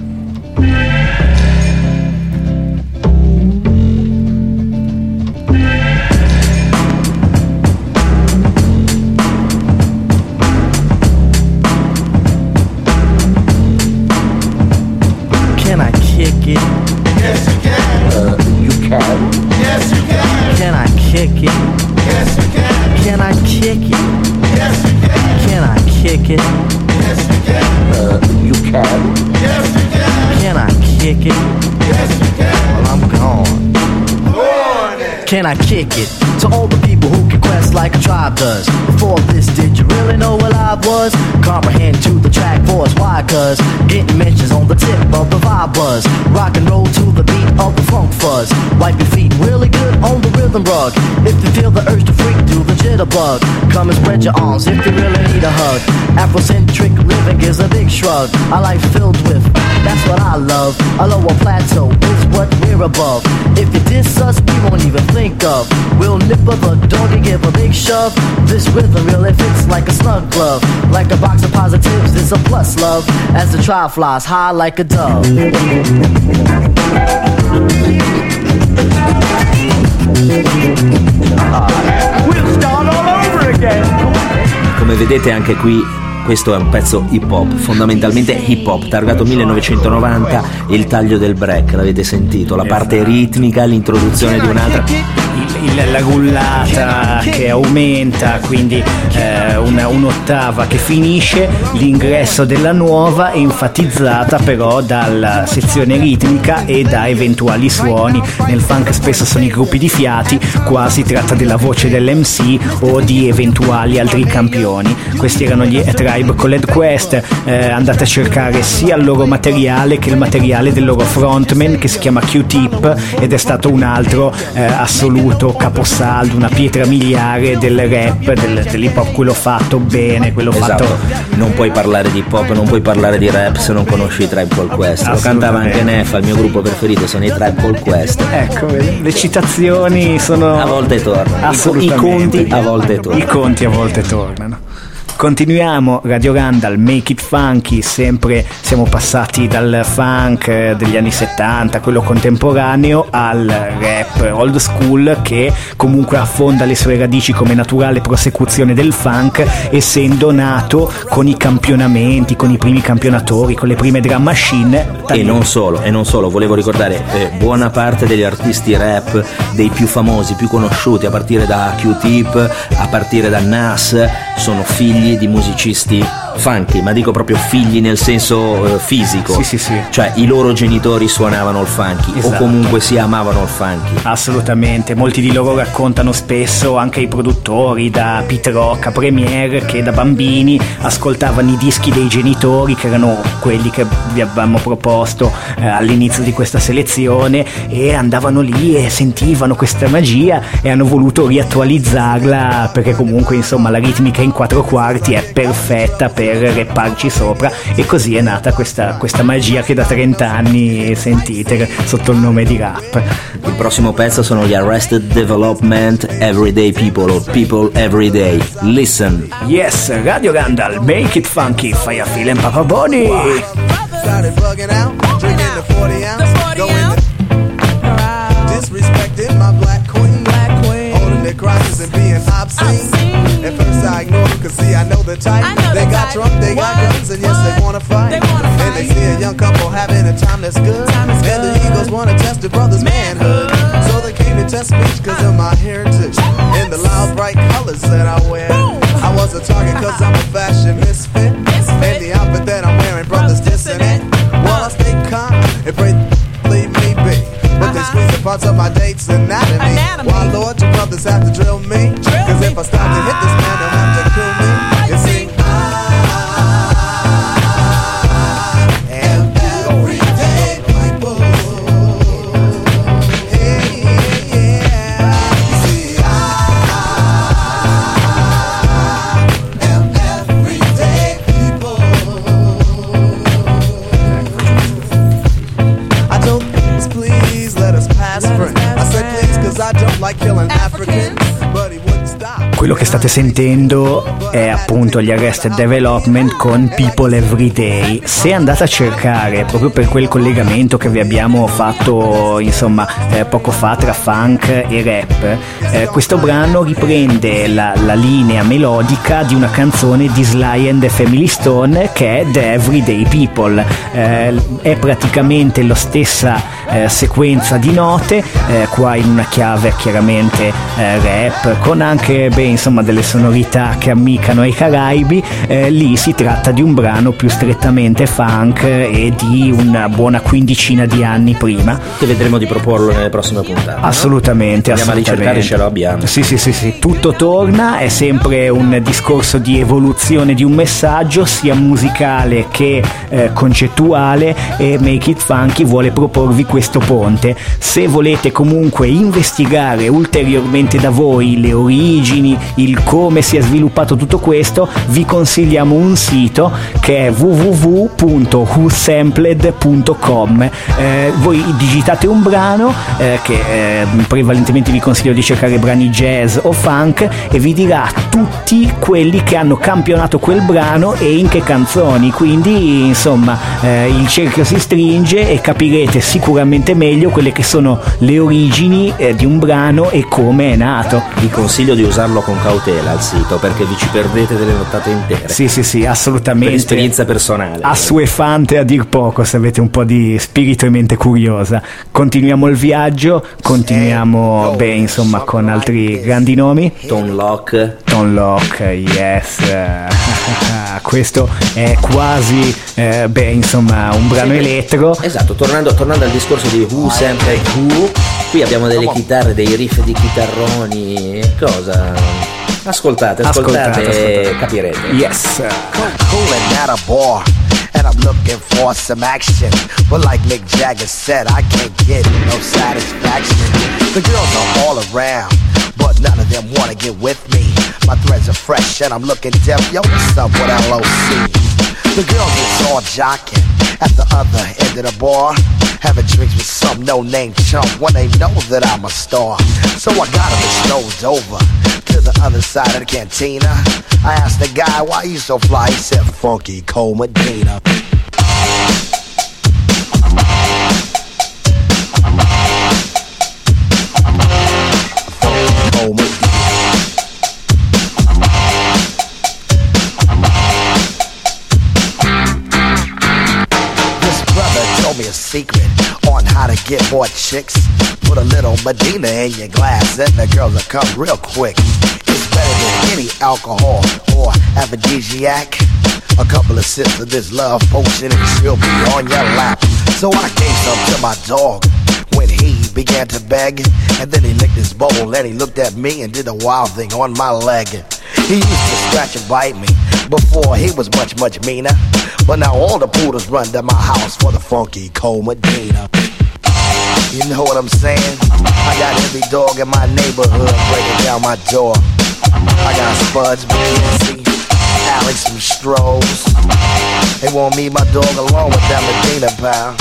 Yes, you can. Uh, you can. Yes, you can. Can I kick it? Yes, you can. Can I kick it? Yes, you can. Can I kick it? Yes, you can. Uh, you can. Yes, you can. Can I kick it? Yes, you can. Well, I'm gone. Can I kick it? To all the people who can quest like a tribe does. Before this, did you really know what I vibe was? Comprehend to the track force. Why? Cause getting mentions on the tip of the vibe buzz. Rock and roll to the beat of the funk fuzz. Wipe your feet really good on the rhythm rug. If you feel the urge to freak, do the jitterbug. Come and spread your arms if you really need a hug. Afrocentric living is a big shrug. A life filled with, that's what I love. A lower plateau is what we're above. If you diss us, we won't even think of. We'll nipper the dog and give a big shove. This rhythm really fits like a snug glove. Like a box of positives, it's a plus love. As the trial flies high like a dove. We'll start all over again. Come vedete anche qui questo è un pezzo hip hop, fondamentalmente hip hop, targato millenovecentonovanta, il taglio del break, l'avete sentito, la parte ritmica, l'introduzione di un'altra, il, il, la rullata che aumenta, quindi eh, una, un'ottava che finisce, l'ingresso della nuova enfatizzata però dalla sezione ritmica e da eventuali suoni. Nel funk spesso sono i gruppi di fiati, qua si tratta della voce dell'M C o di eventuali altri campioni. Questi erano gli Tribe Called Quest. Eh, andate a cercare sia il loro materiale che il materiale del loro frontman, che si chiama Q-Tip, ed è stato un altro eh, assoluto caposaldo, una pietra miliare del rap, del, dell'hip hop, quello fatto bene, quello esatto. fatto. Non puoi parlare di hip hop, non puoi parlare di rap se non conosci i Tribe Called Quest. Lo cantava anche Neff, il mio gruppo preferito sono i Tribe Called Quest. Ecco, le citazioni sono a volte tornano, assolutamente. I conti a volte tornano. I conti a volte tornano. Continuiamo, Radio Randall, Make It Funky, sempre siamo passati dal funk degli anni settanta, quello contemporaneo, al rap old school, che comunque affonda le sue radici come naturale prosecuzione del funk, essendo nato con i campionamenti, con i primi campionatori, con le prime drum machine. E non solo, e non solo, volevo ricordare eh, buona parte degli artisti rap, dei più famosi, più conosciuti, a partire da Q-Tip, a partire da Nas, sono figli di musicisti funky, ma dico proprio figli nel senso eh, fisico. Sì, sì, sì. Cioè i loro genitori suonavano il funky, esatto. O comunque si amavano il funky. Assolutamente, molti di loro raccontano spesso, anche i produttori, da Pete Rock a Premier, che da bambini ascoltavano i dischi dei genitori, che erano quelli che vi avevamo proposto eh, all'inizio di questa selezione, e andavano lì e sentivano questa magia e hanno voluto riattualizzarla, perché comunque insomma la ritmica in quattro quarti è perfetta per repparci sopra, e così è nata questa, questa magia che da trenta anni sentite sotto il nome di rap. Il prossimo pezzo sono gli Arrested Development, Everyday People or People Everyday. Listen. Yes, Radio Randall, Make It Funky, Fire Feeling Papa Bonnie. Started bugging out, drinking the forty ounce, going to disrespecting my black queen, black queen, holding their crosses and being obscene. At first I ignored them, cause see I know the type. Know they the got type. drunk, they what? got guns, and yes what? they wanna fight. They wanna and fight. They see a young couple having a time that's good, time and good. The Eagles wanna test the brother's manhood. manhood. So they came to test me cause of my heritage and the loud bright colors that I wear. Boom. I was a target cause I'm a fashion misfit, misfit. And the outfit that I'm wearing, brothers dissing it. While I stay calm and pray leave me be, but uh-huh. they squeeze the parts of my date's anatomy. anatomy. Why Lord, you brothers have to drill me, drill cause me. If I stop to hit this man, they'll have to kill me. You see, I am everyday people. Hey, yeah. You see, I am everyday people. I told us, please let us pass friends. I said please cause I don't like killing Africans, but he wouldn't stop. Quello che state sentendo è appunto gli Arrested Development con People Everyday. Se andate a cercare, proprio per quel collegamento che vi abbiamo fatto insomma eh, poco fa tra funk e rap, eh, questo brano riprende la, la linea melodica di una canzone di Sly and the Family Stone, che è The Everyday People. Eh, è praticamente lo stessa eh, sequenza di note, eh, qua in una chiave chiaramente eh, rap, con anche beh, insomma delle sonorità che ammiccano ai Caraibi. Eh, lì si tratta di un brano più strettamente funk e di una buona quindicina di anni prima, che vedremo di proporlo nelle prossime puntate. Assolutamente, no? Andiamo a ricercare, ce lo abbiamo. Sì, sì, sì, sì, tutto torna, è sempre un discorso di evoluzione di un messaggio sia musicale che eh, concettuale, e Make It Funky vuole proporvi questo ponte. Se volete comunque investigare ulteriormente da voi le origini, il come si è sviluppato tutto questo, vi consigliamo un sito che è w w w punto who sampled punto com. Eh, voi digitate un brano eh, che eh, prevalentemente vi consiglio di cercare brani jazz o funk, e vi dirà tutti quelli che hanno campionato quel brano e in che canzoni. Quindi insomma eh, il cerchio si stringe e capirete sicuramente meglio quelle che sono le origini eh, di un brano e come è nato. Vi consiglio di usarlo con cautela il sito, perché vi ci perdete delle nottate intere. Sì, sì, sì, assolutamente. Per esperienza personale. Assuefante a dir poco, se avete un po' di spirito e mente curiosa. Continuiamo il viaggio, continuiamo beh, insomma, con altri grandi nomi. Tone Loc. Tone Loc, yes. Questo è quasi eh, beh, insomma, un brano sì, elettro. Esatto, tornando, tornando al discorso di Who Sampled Who, qui abbiamo delle chitarre, dei riff di chitarroni. Cosa? Ascoltate, ascoltate, ascoltate, ascoltate. Capirete. Yes. Cooling at a bar, and I'm looking for some action. But like Mick Jagger said, I can't get no satisfaction. The girls are all around, but none of them wanna get with me. My threads are fresh and I'm looking deaf. Yo, what's up with L O C? The girls is all jocking at the other end of the bar, having drinks with some no-name chump when they know that I'm a star. So I got them strolled over to the other side of the cantina. I asked the guy, why you so fly? He said, Funky Cole Medina. Funky Cole Medina. Me a secret on how to get more chicks. Put a little Medina in your glass and the girls will come real quick. It's better than any alcohol or aphrodisiac. A couple of sips of this love potion and she'll be on your lap. So I gave some to my dog when he began to beg, and then he licked his bowl and he looked at me and did a wild thing on my leg. He used to scratch and bite me before he was much, much meaner. But now all the poodles run to my house for the Funky Cole Medina. You know what I'm saying? I got every dog in my neighborhood breaking down my door. I got Spuds, McKenzie, Alex, and Strohs. They want me, my dog, along with that Medina pal.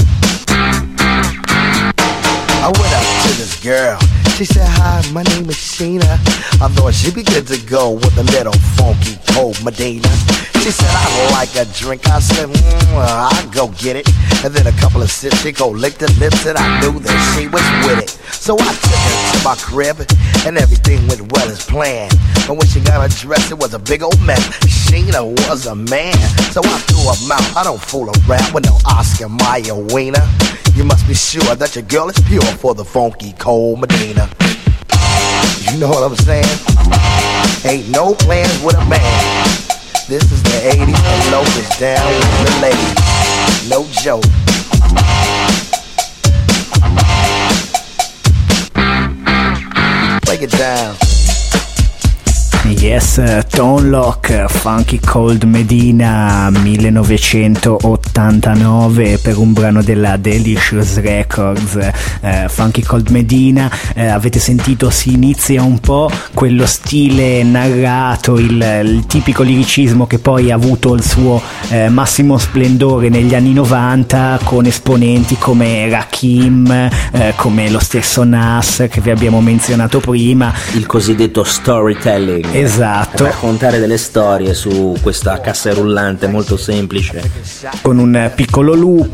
I went up to this girl. She said, hi, my name is Sheena. I thought she'd be good to go with a little Funky Cole Medina. She said, I like a drink. I said, mm, well, I'll go get it. And then a couple of sips, she go lick the lips, and I knew that she was with it. So I took her to my crib, and everything went well as planned. And when she got her dress, it was a big old mess. Sheena was a man, so I threw her out. I don't fool around with no Oscar Mayer wiener. You must be sure that your girl is pure for the Funky Cole Medina. You know what I'm saying? Ain't no plans with a man. This is the eighties and Loc is down with the ladies. No joke. Break it down. Yes, Tone Loc, Funky Cole Medina millenovecentottantanove, per un brano della Delicious Records. eh, Funky Cole Medina, eh, avete sentito, si inizia un po' quello stile narrato, il, il tipico liricismo che poi ha avuto il suo eh, massimo splendore negli anni novanta, con esponenti come Rakim, eh, come lo stesso Nas che vi abbiamo menzionato prima, il cosiddetto storytelling. Esatto. Raccontare delle storie su questa cassa rullante molto semplice, con un piccolo loop,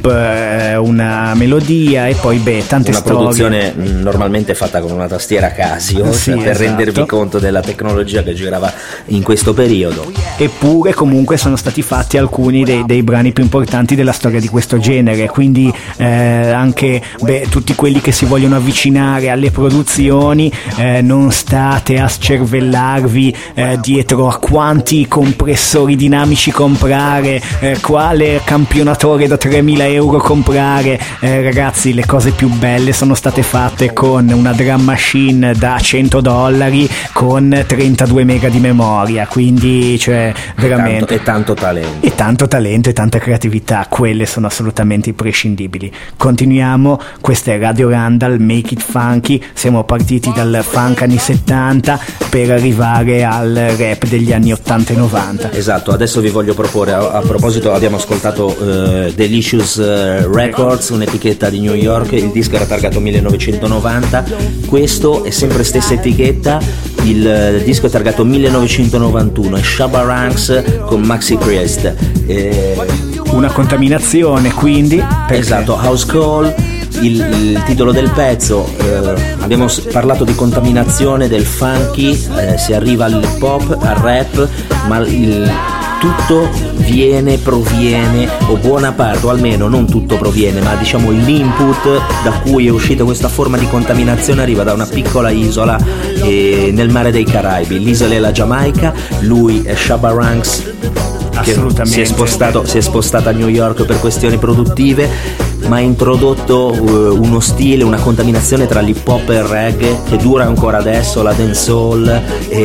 una melodia e poi beh tante una storie. produzione normalmente fatta con una tastiera Casio, sì, per esatto. rendervi conto della tecnologia che girava in questo periodo. Eppure comunque sono stati fatti alcuni dei, dei brani più importanti della storia di questo genere, quindi eh, anche beh, tutti quelli che si vogliono avvicinare alle produzioni, eh, non state a scervellarvi eh, dietro a quanti compressori dinamici comprare, eh, quale campionatore da tremila euro comprare. Eh, ragazzi, le cose più belle sono state fatte con una drum machine da cento dollari con trentadue mega di memoria, quindi cioè veramente e tanto, e tanto talento e tanto talento e tanta creatività, quelle sono assolutamente imprescindibili. Continuiamo, questa è Radio Randall, Make It Funky. Siamo partiti dal funk anni settanta per arrivare al rap degli anni ottanta e novanta. Esatto, adesso vi voglio proporre, a, a proposito abbiamo ascoltato uh, Delicious uh, Records, un'etichetta di New York, il disco era targato millenovecentonovanta, questo è sempre stessa etichetta, il uh, disco è targato millenovecentonovantuno, è Shabba Ranks con Maxi Priest. Eh, una contaminazione quindi perché... Esatto, House Call. Il, il titolo del pezzo, eh, abbiamo parlato di contaminazione del funky, eh, si arriva all'hip hop, al rap, ma il, tutto viene, proviene, o buona parte, o almeno non tutto proviene, ma diciamo l'input da cui è uscita questa forma di contaminazione arriva da una piccola isola eh, nel mare dei Caraibi. L'isola è la Giamaica, lui è Shabba Ranks, che si è spostato, si è spostato a New York per questioni produttive, ma ha introdotto uh, uno stile, una contaminazione tra l'hip hop e il reggae che dura ancora adesso, la dancehall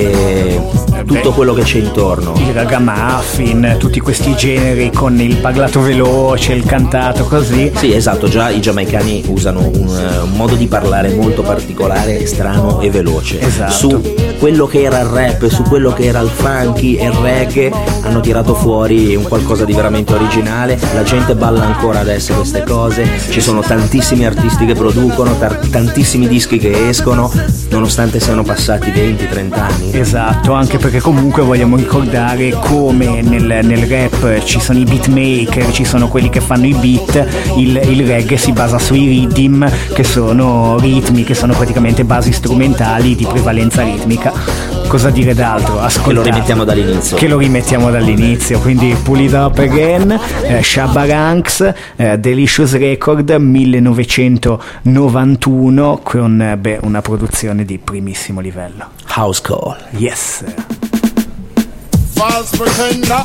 e tutto quello che c'è intorno, il ragamuffin, tutti questi generi con il parlato veloce, il cantato così. Sì, esatto, già i giamaicani usano un, uh, un modo di parlare molto particolare, strano e veloce. Esatto. Su quello che era il rap, su quello che era il funky e il reggae hanno tirato fuori un qualcosa di veramente originale. La gente balla ancora adesso queste cose, ci sono tantissimi artisti che producono, tar- tantissimi dischi che escono, nonostante siano passati venti trenta anni. Esatto, anche perché comunque vogliamo ricordare come nel, nel rap ci sono i beatmaker, ci sono quelli che fanno i beat, il, il reggae si basa sui rhythm, che sono ritmi, che sono praticamente basi strumentali di prevalenza ritmica. Cosa dire d'altro? Ascoltate. Che lo rimettiamo dall'inizio. Che lo rimettiamo dall'inizio, quindi pull it up again, eh, Shabba Ranks, eh, Delicious Record millenovecentonovantuno con eh, beh, una produzione di primissimo livello. House Call. Yes. False pretender,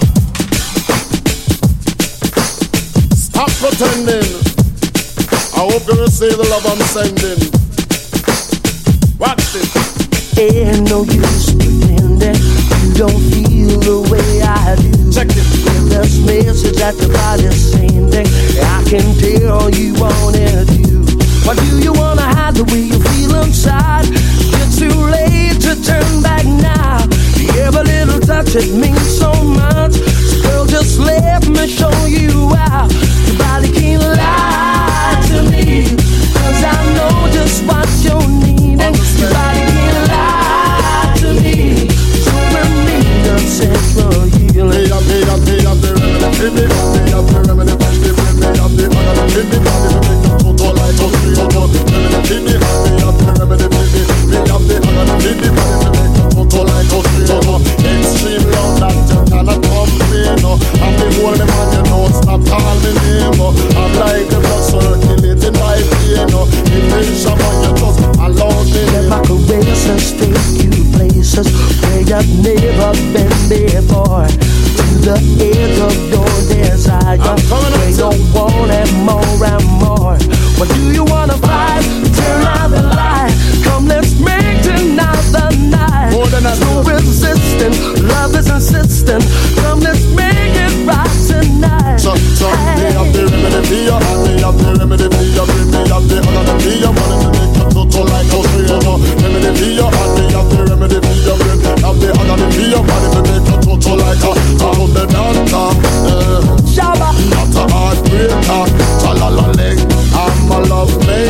stop pretending. I hope you receive the love I'm sending. Watch this. Ain't no use pretending you don't feel the way I do. Check it. With this message that your body's sending, I can tell you want it to. Why do you wanna hide the way you feel inside? It's too late to turn back now. Every little touch, it means so much. So girl, just let me show you out. Your body can't lie to me, 'cause I know just what you're needing. Your body can't lie to me, so we're me the central healing. Me up, me up, me up, the remedy, me up, me up, the remedy, me up, me up, the remedy, me up, me up, the remedy, total like a real one. Remedy, me up, me up, the remedy, me up, me up, the remedy, me up, total like a real one. Extreme love that you cannot complain. I'm the only man you know, stop calling me name. I'm like the blood circulating my vein. If it's someone you just allow me. Let my caresses take you places where you've never been before. To the edge of your desire, where you want it more and more. What do you wanna fight? Turn out the light. Come, let's make tonight the night. No resisting, love is insistent. Come, let's make it right tonight. So, so, me up the remedy for you, me up the remedy for you, me up the remedy for you, money to make you total like a real. Remedy for you, me up the remedy for you, me up the remedy for you, money to make you total like a. I'm the doctor, uh, Shabba, not a heartbreaker. Cha la la leg, I'm a love maker.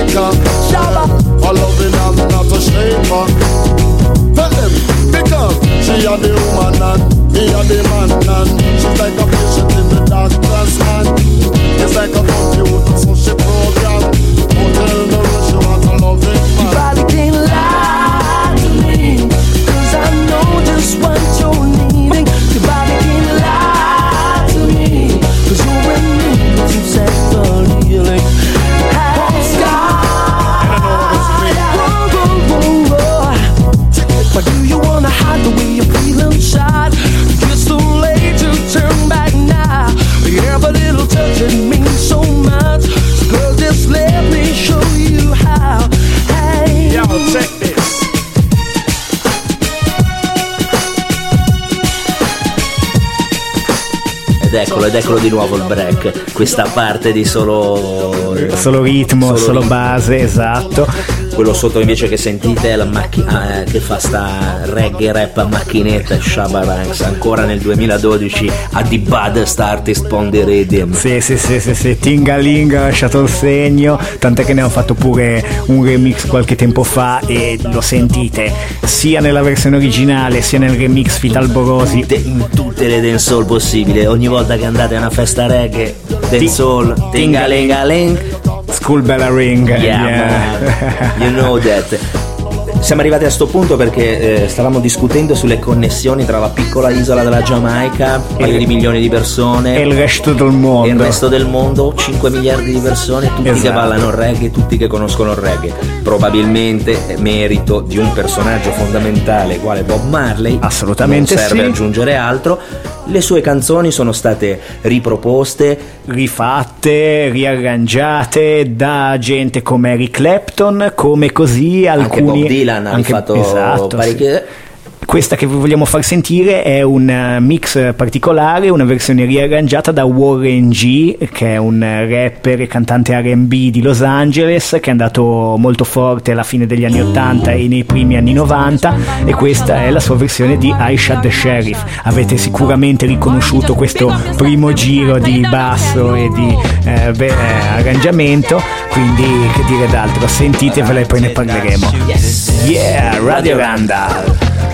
Ed eccolo, ed eccolo di nuovo il break, questa parte di solo solo ritmo, solo, solo base, esatto. Quello sotto invece che sentite è la macchina eh, che fa sta reggae rap a macchinetta, Shabba Ranks, ancora nel duemiladodici a The Baddest Artist on the Rhythm. Sì, sì, sì, sì, sì. Tingaling ha lasciato il segno, tant'è che ne ho fatto pure un remix qualche tempo fa e lo sentite sia nella versione originale sia nel remix Fitalborosi, in tutte le dancehall possibili. Ogni volta che andate a una festa reggae, dancehall, tingalingaling, School Bell Ring, yeah, yeah. You know that. Siamo arrivati a sto punto perché eh, stavamo discutendo sulle connessioni tra la piccola isola della Giamaica, un paio di milioni di persone, e il resto del mondo. E il resto del mondo, cinque miliardi di persone, tutti esatto. che ballano il reggae, tutti che conoscono il reggae. Probabilmente merito di un personaggio fondamentale quale Bob Marley. Assolutamente non serve sì. aggiungere altro. Le sue canzoni sono state riproposte, rifatte, riarrangiate da gente come Eric Clapton, come così alcuni anche Bob Dylan ha anche, fatto esatto, parecchie. Sì. Questa che vi vogliamo far sentire è un mix particolare, una versione riarrangiata da Warren G, che è un rapper e cantante R and B di Los Angeles, che è andato molto forte alla fine degli anni ottanta e nei primi anni novanta, e questa è la sua versione di I Shot the Sheriff. Avete sicuramente riconosciuto questo primo giro di basso e di eh, beh, eh, arrangiamento, quindi che dire d'altro, sentitevela e poi ne parleremo. Yes. Yeah, Radio Randall.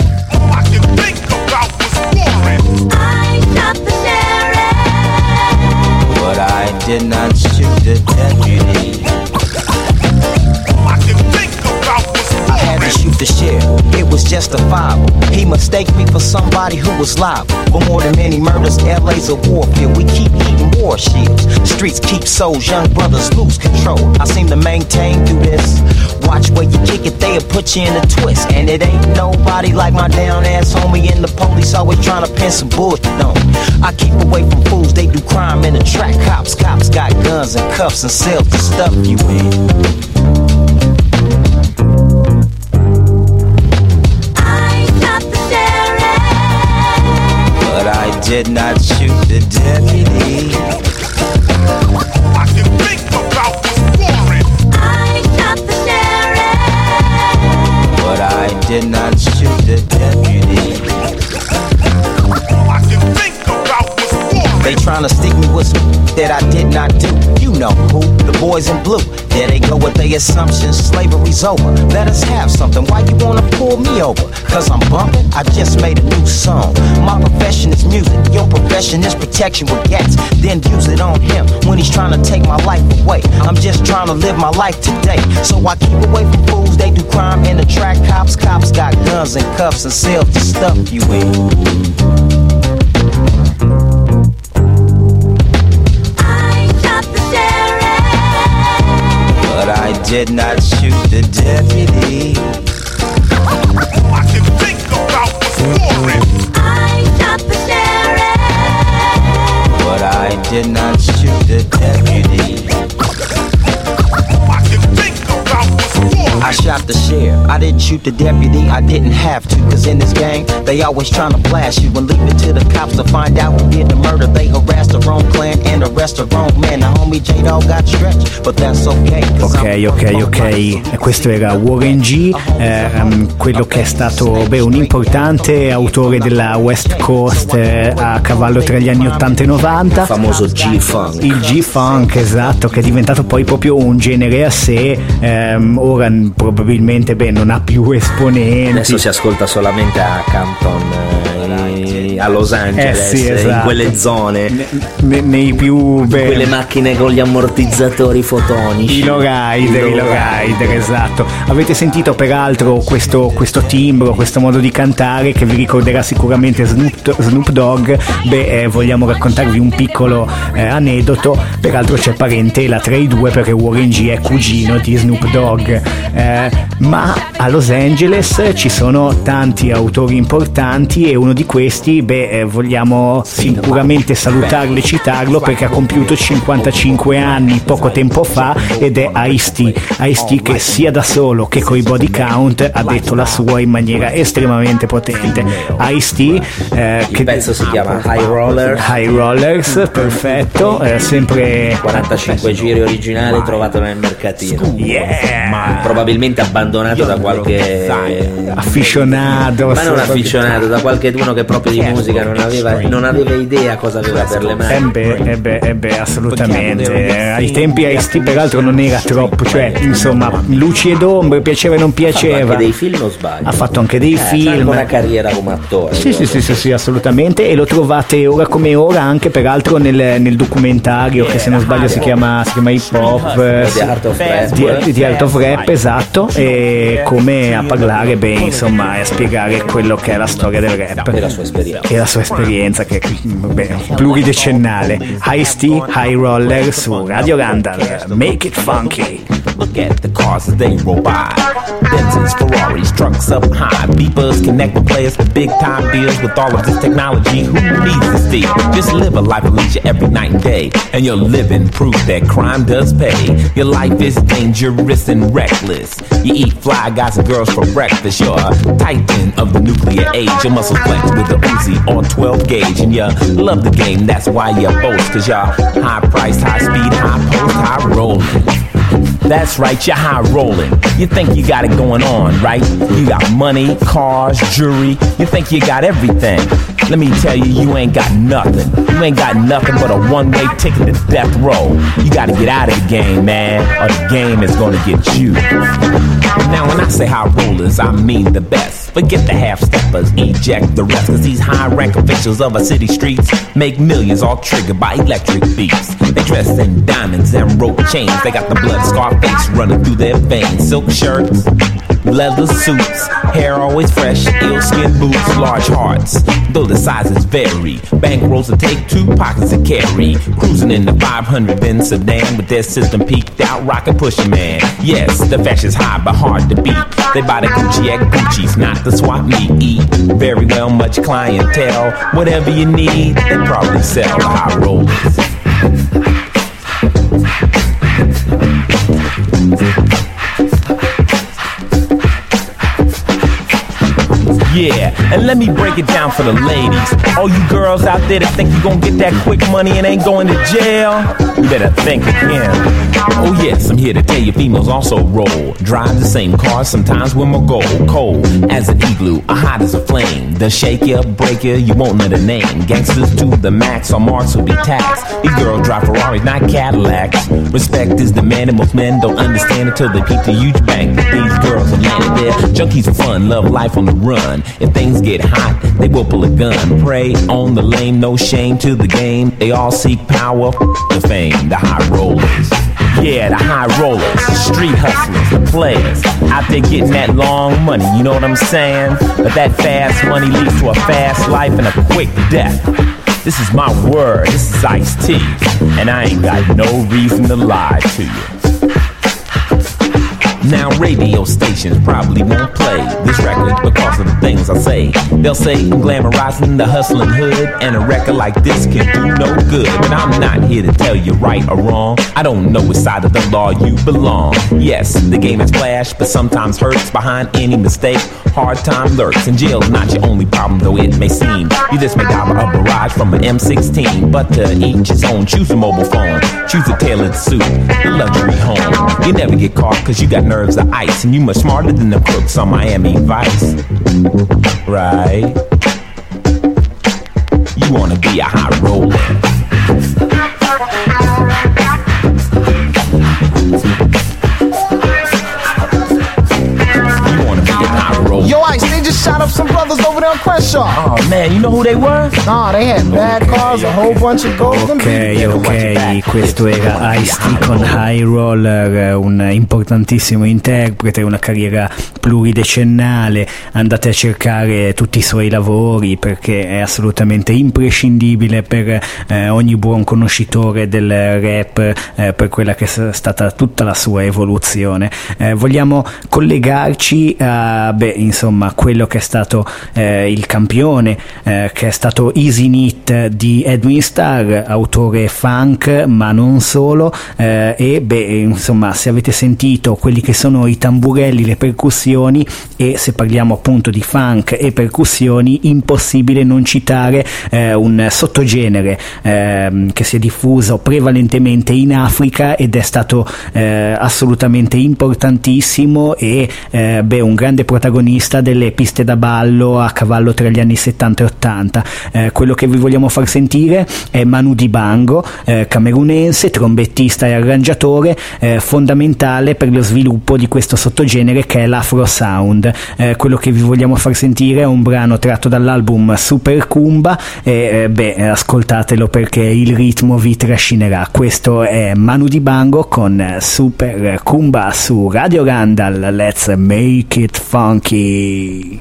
But I did not shoot the deputy. I can think about what's I had to shoot the sheriff, it was justifiable. He mistaked me for somebody who was liable. For more than many murders, L A's a warfield. We keep eating war shields. Streets keep souls, young brothers lose control. I seem to maintain through this. Watch where you kick it, they'll put you in a twist. And it ain't nobody like my down ass homie, and the police always trying to pin some bullshit on. I keep away from fools, they do crime in the track. Cops, cops got guns and cuffs and sell the stuff you in. I shot the sheriff, but I did not shoot the deputy. I can think about what's foreign. I shot the sheriff, but I did not shoot the deputy. I can think about what's foreign. They tryna stick me with some that I did not do. You know who, the boys in blue. There they go with their assumptions, slavery's over. Let us have something, why you wanna pull me over? Cause I'm bumping, I just made a new song. My profession is music, your profession is protection with gas. Then use it on him when he's trying to take my life away. I'm just trying to live my life today. So I keep away from fools, they do crime in the track. Cops, cops got guns and cuffs and sell the stuff you in. But I did not shoot the deputy. I can think about what's foreign. I shot the sheriff, but I did not shoot the deputy. I can think about what's foreign. I shot the sheriff, I didn't shoot the deputy, I didn't have to. Cause in this gang, they always trying to blast you and leave it to the cops to find out who did the murder. They harassed the wrong clan and arrest the wrong man. The homie J-Dog got stretched, but that's okay. Ok, ok, ok. Questo era Warren G, ehm, quello che è stato beh, un importante autore della West Coast eh, a cavallo tra gli anni ottanta e novanta. Il famoso G-Funk. Il G-Funk, esatto, che è diventato poi proprio un genere a sé. Ehm, ora probabilmente beh, non ha più esponenti. Adesso si ascolta solamente a Campton, eh, a Los Angeles, eh sì, esatto. In quelle zone, ne, ne, nei più beh, quelle macchine con gli ammortizzatori fotonici, i lowrider, i lowrider, esatto. Avete sentito peraltro questo, questo timbro, questo modo di cantare che vi ricorderà sicuramente Snoop, Snoop Dogg. Beh, eh, vogliamo raccontarvi un piccolo eh, aneddoto. Peraltro c'è parentela tra i due perché Warren G è cugino di Snoop Dogg, eh, ma a Los Angeles ci sono tanti autori importanti e uno di questi, beh, eh, vogliamo sicuramente salutarlo e citarlo perché ha compiuto cinquantacinque cinque anni, poco tempo fa, ed è Ice-T. Ice-T che sia da solo che coi body count ha detto la sua in maniera estremamente potente. Ice-T, eh, che il pezzo si chiama High Roller. High Rollers, perfetto, eh, sempre quarantacinque giri originali trovato nel mercatino. Yeah. Probabilmente abbandonato da qualche afficionato, ma non afficionato, da qualche uno che proprio di musica non aveva, non aveva idea cosa aveva per le mani. Eh beh, eh beh, eh beh, assolutamente. Ai tempi Ice-T peraltro non era troppo, cioè insomma luci ed ombre, piaceva e non piaceva. Ha fatto anche dei film, o sbaglio? Ha fatto anche dei eh, film. Ha una carriera come attore. Sì, sì, sì, sì, sì, assolutamente. E lo trovate ora come ora anche peraltro nel, nel documentario che se non sbaglio si chiama, si chiama Hip Hop The Art of Rap. Di, di Art of Rap, esatto. E come a parlare, beh, insomma, e a spiegare quello che è la storia del rap e la sua esperienza, e la sua esperienza che beh, pluridecennale. Ice-T, High Roller su Radio Randall. Make it funky. Look at the cars as they roll by. Benzes, Ferraris, trucks up high. Beepers connect with players for big time deals. With all of this technology, who needs this deal? Just live a life of leisure every night and day, and your living proof that crime does pay. Your life is dangerous and reckless. You eat fly guys and girls for breakfast. You're a titan of the nuclear age. Your muscles flex with a Uzi or twelve gauge, and you love the game. That's why you boast, cause you're high price, high speed, high post, high rolling. That's right, you're high rolling. You think you got it going on, right? You got money, cars, jewelry. You think you got everything. Let me tell you, you ain't got nothing. You ain't got nothing but a one-way ticket to death row. You gotta get out of the game, man, or the game is gonna get you. Now when I say high rollers, I mean the best. Forget the half-steppers, eject the rest. Cause these high-rank officials of our city streets make millions all triggered by electric beats. They dress in diamonds and rope chains. They got the blood Scarface running through their veins. Silk shirts, leather suits, hair always fresh, ill skin boots, large hearts, though the sizes vary. Bankrolls to take, two pockets to carry. Cruising in the five hundred Benz sedan with their system peaked out, rockin' Pusha Man. Yes, the fashion's high but hard to beat. They buy the Gucci at Gucci's, not the swap meet. Eat very well, much clientele. Whatever you need, they probably sell the high rollers. Yeah, and let me break it down for the ladies. All you girls out there that think you gon' get that quick money and ain't going to jail, you better think again. Oh yes, I'm here to tell you females also roll. Drive the same car, sometimes with my gold. Cold as an igloo, or hot as a flame. The shake ya, break ya, you won't know the name. Gangsters to the max, our marks will be taxed. These girls drive Ferraris, not Cadillacs. Respect is demanded, most men don't understand until they peep the huge bank that these girls have landed there. Junkies for fun, love life on the run. If things get hot, they will pull a gun. Prey on the lame, no shame to the game. They all seek power, the fame, the high rollers. Yeah, the high rollers, street hustlers, the players. Out there getting that long money, you know what I'm saying? But that fast money leads to a fast life and a quick death. This is my word, this is Ice-T, and I ain't got no reason to lie to you. Now radio stations probably won't play this record because of the things I say. They'll say I'm glamorizing the hustling hood, and a record like this can do no good. But I'm not here to tell you right or wrong. I don't know which side of the law you belong. Yes, the game is flash, but sometimes hurts behind any mistake. Hard time lurks, and jail's not your only problem, though it may seem. You just may dial a barrage from an M sixteen, but to each his own. Choose a mobile phone, choose a tailored suit, a luxury home. You never get caught cause you got nerves of ice, and you much smarter than the crooks on Miami Vice. Right? You wanna be a high roller. Yo, Ice, they just shot up some brothers over there on Crenshaw. Oh man, you know who they were? No, they had bad cars, a whole bunch of golden. Ok, ok, questo era Ice-T con High Roller, un importantissimo interprete, una carriera pluridecennale. Andate a cercare tutti i suoi lavori perché è assolutamente imprescindibile per eh, ogni buon conoscitore del rap, eh, per quella che è stata tutta la sua evoluzione. Eh, vogliamo collegarci a, beh, insomma, quello che è stato eh, il campione campione eh, che è stato Easy Knit di Edwin Starr, autore funk ma non solo, eh, e beh, insomma, se avete sentito quelli che sono i tamburelli, le percussioni, e se parliamo appunto di funk e percussioni, impossibile non citare eh, un sottogenere eh, che si è diffuso prevalentemente in Africa ed è stato eh, assolutamente importantissimo e eh, beh, un grande protagonista delle piste da ballo a cavallo tra gli anni settanta e ottanta. Eh, quello che vi vogliamo far sentire è Manu Dibango, eh, camerunense, trombettista e arrangiatore, eh, fondamentale per lo sviluppo di questo sottogenere che è l'Afro Sound. Eh, quello che vi vogliamo far sentire è un brano tratto dall'album Super Kumba e eh, beh, ascoltatelo perché il ritmo vi trascinerà. Questo è Manu Dibango con Super Kumba su Radio Randall. Let's make it funky.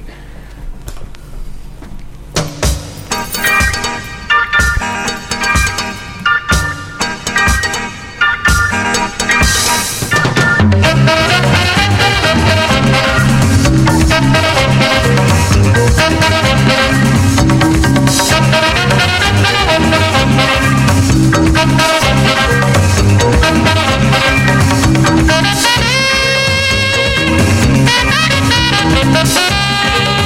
Thank you.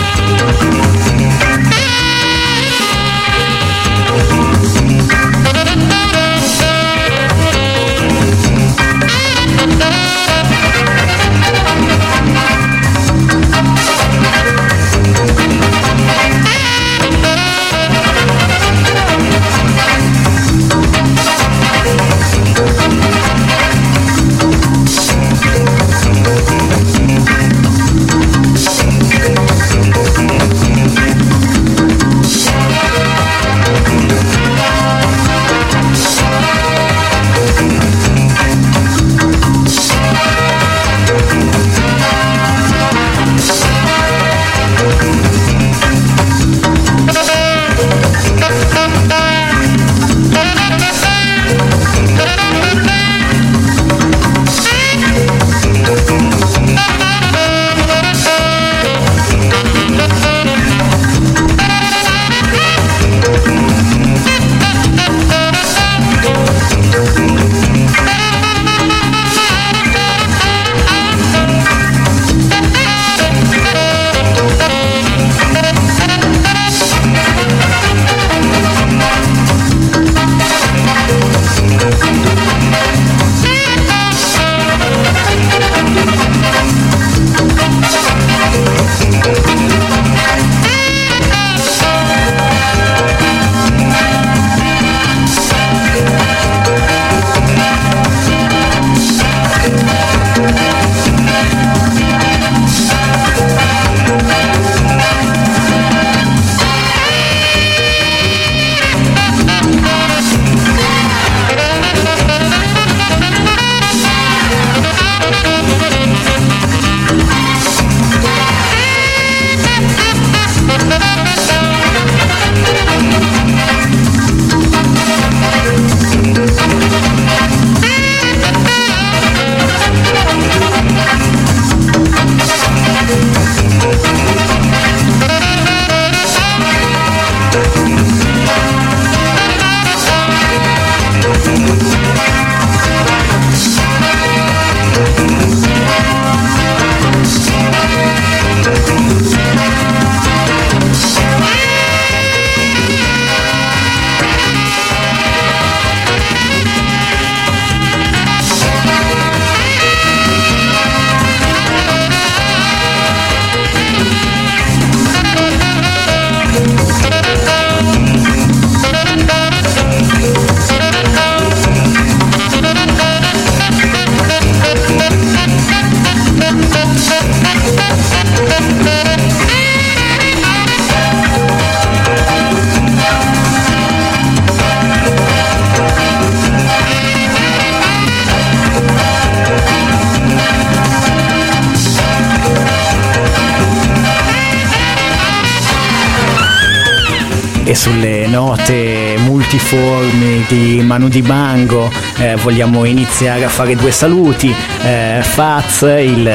sulle note multiformi di Manu Dibango eh, vogliamo iniziare a fare due saluti. eh, Faz, il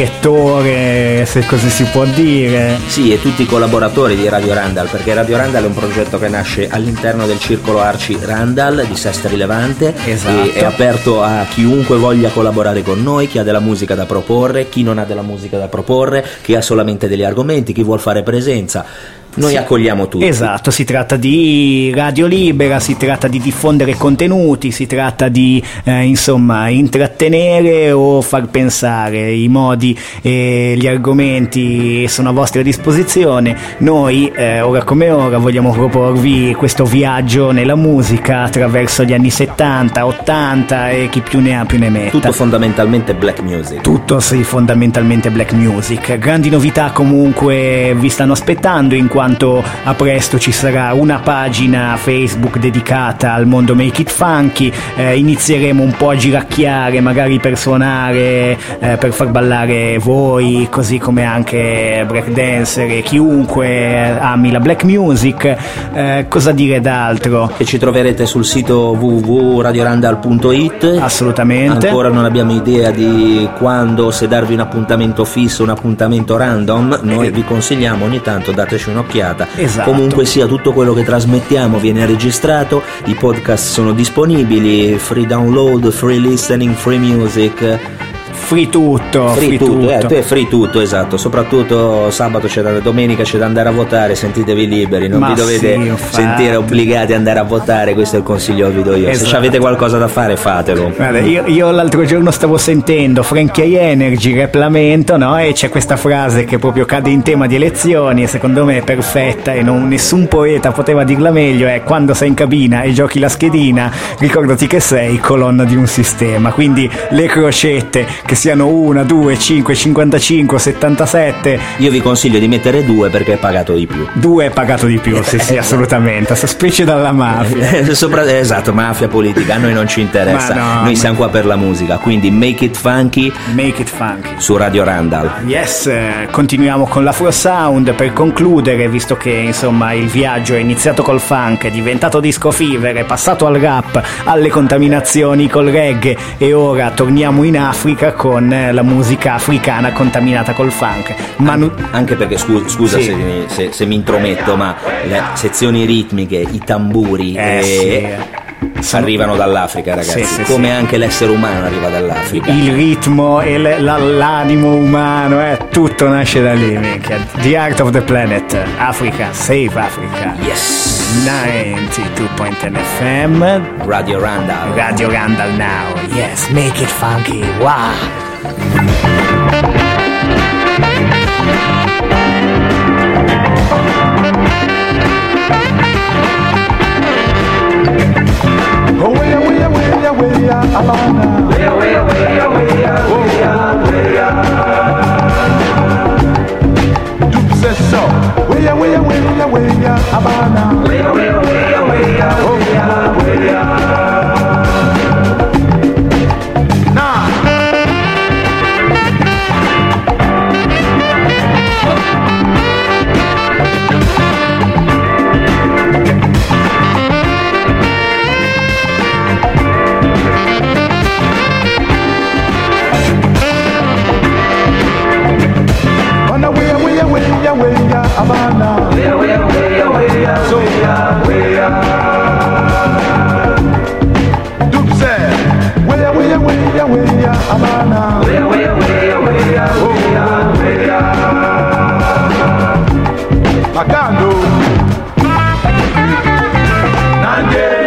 direttore, se così si può dire. Sì, e tutti i collaboratori di Radio Randall, perché Radio Randall è un progetto che nasce all'interno del circolo Arci Randall di Sestri Levante. Esatto. E è aperto a chiunque voglia collaborare con noi, chi ha della musica da proporre, chi non ha della musica da proporre, chi ha solamente degli argomenti, chi vuol fare presenza. Noi sì, accogliamo tutti. Esatto, si tratta di radio libera, si tratta di diffondere contenuti, si tratta di eh, insomma intrattenere o far pensare. I modi e gli argomenti sono a vostra disposizione. Noi eh, ora come ora vogliamo proporvi questo viaggio nella musica attraverso gli anni settanta, ottanta e chi più ne ha più ne metta. Tutto fondamentalmente black music. Tutto sì, fondamentalmente black music. Grandi novità comunque vi stanno aspettando, in quanto a presto ci sarà una pagina Facebook dedicata al mondo Make It Funky. eh, inizieremo un po' a giracchiare, magari per suonare, eh, per far ballare voi, così come anche breakdancer e chiunque ami la black music. Eh, cosa dire d'altro? Che ci troverete sul sito w w w punto radio randall punto i t. Assolutamente. Ancora non abbiamo idea di quando, se darvi un appuntamento fisso, un appuntamento random. Noi vi consigliamo ogni tanto dateci un'occhiata. Esatto. Comunque sia, tutto quello che trasmettiamo viene registrato, i podcast sono disponibili, free download, free listening, free music. Free tutto, free, free tutto, tutto. Eh, tu è free tutto, esatto. Soprattutto sabato c'è da, domenica c'è da andare a votare, sentitevi liberi, non Ma vi dovete sì, infatti. sentire obbligati ad andare a votare, questo è il consiglio che vi do io. Esatto. Se avete qualcosa da fare, fatelo. Guarda, io, io l'altro giorno stavo sentendo Frankie Energy, Rap Lamento, no? E c'è questa frase che proprio cade in tema di elezioni e secondo me è perfetta e non, nessun poeta poteva dirla meglio. È: quando sei in cabina e giochi la schedina, ricordati che sei colonna di un sistema. Quindi le crocette, che siano una, due, cinque, cinquantacinque, settantasette. Io vi consiglio di mettere due perché è pagato di più. Due è pagato di più, sì sì, assolutamente. Specie dalla mafia. Sopra, esatto, mafia politica, a noi non ci interessa. Ma no, noi ma... siamo qua per la musica, quindi make it funky. Make it funky su Radio Randall. Yes, eh, continuiamo con l'Afro Sound per concludere, visto che insomma il viaggio è iniziato col funk, è diventato disco fever, è passato al rap, alle contaminazioni col reggae e ora torniamo in Africa con la musica africana contaminata col funk. Manu... Anche perché scusa, scusa sì. se, se, se mi intrometto, ma le sezioni ritmiche, i tamburi eh, e... sì. arrivano dall'Africa, ragazzi, sì, sì, come sì. anche l'essere umano arriva dall'Africa. Il ritmo e l- la- l'animo umano, eh, tutto nasce da lì, minchia. The Art of the Planet, Africa, Save Africa. Yes. ninety-two point one F M Radio Randall. Radio Randall now. Yes, make it funky. Wow. Oh, way, way, way, way, Alana. Way, way, way, way, way, way. Duke says so. Way, way, way, way, Alana. Way, way, way, way, way, way. Abana, way, way, way, way, so way, Duke said, way, way, way, way, Abana, way, way, way, way, way, Magando, Nande.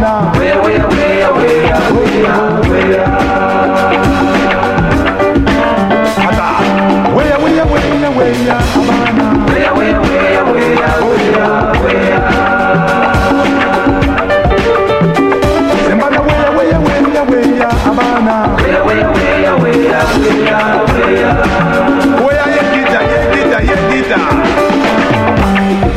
Havana. Where, where, where, where, where, where? Where, where, where, where, Havana. Where, where, where, where, where, where? Sembana where, where, where, where, Havana. Where, where, where, where, where, where? Where, yeah, guitar, yeah, guitar, yeah, guitar.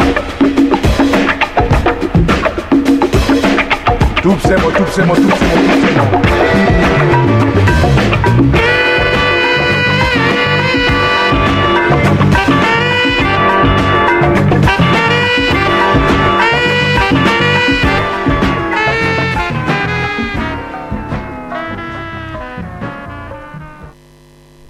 Tupsemo, tupsemo, tupsemo,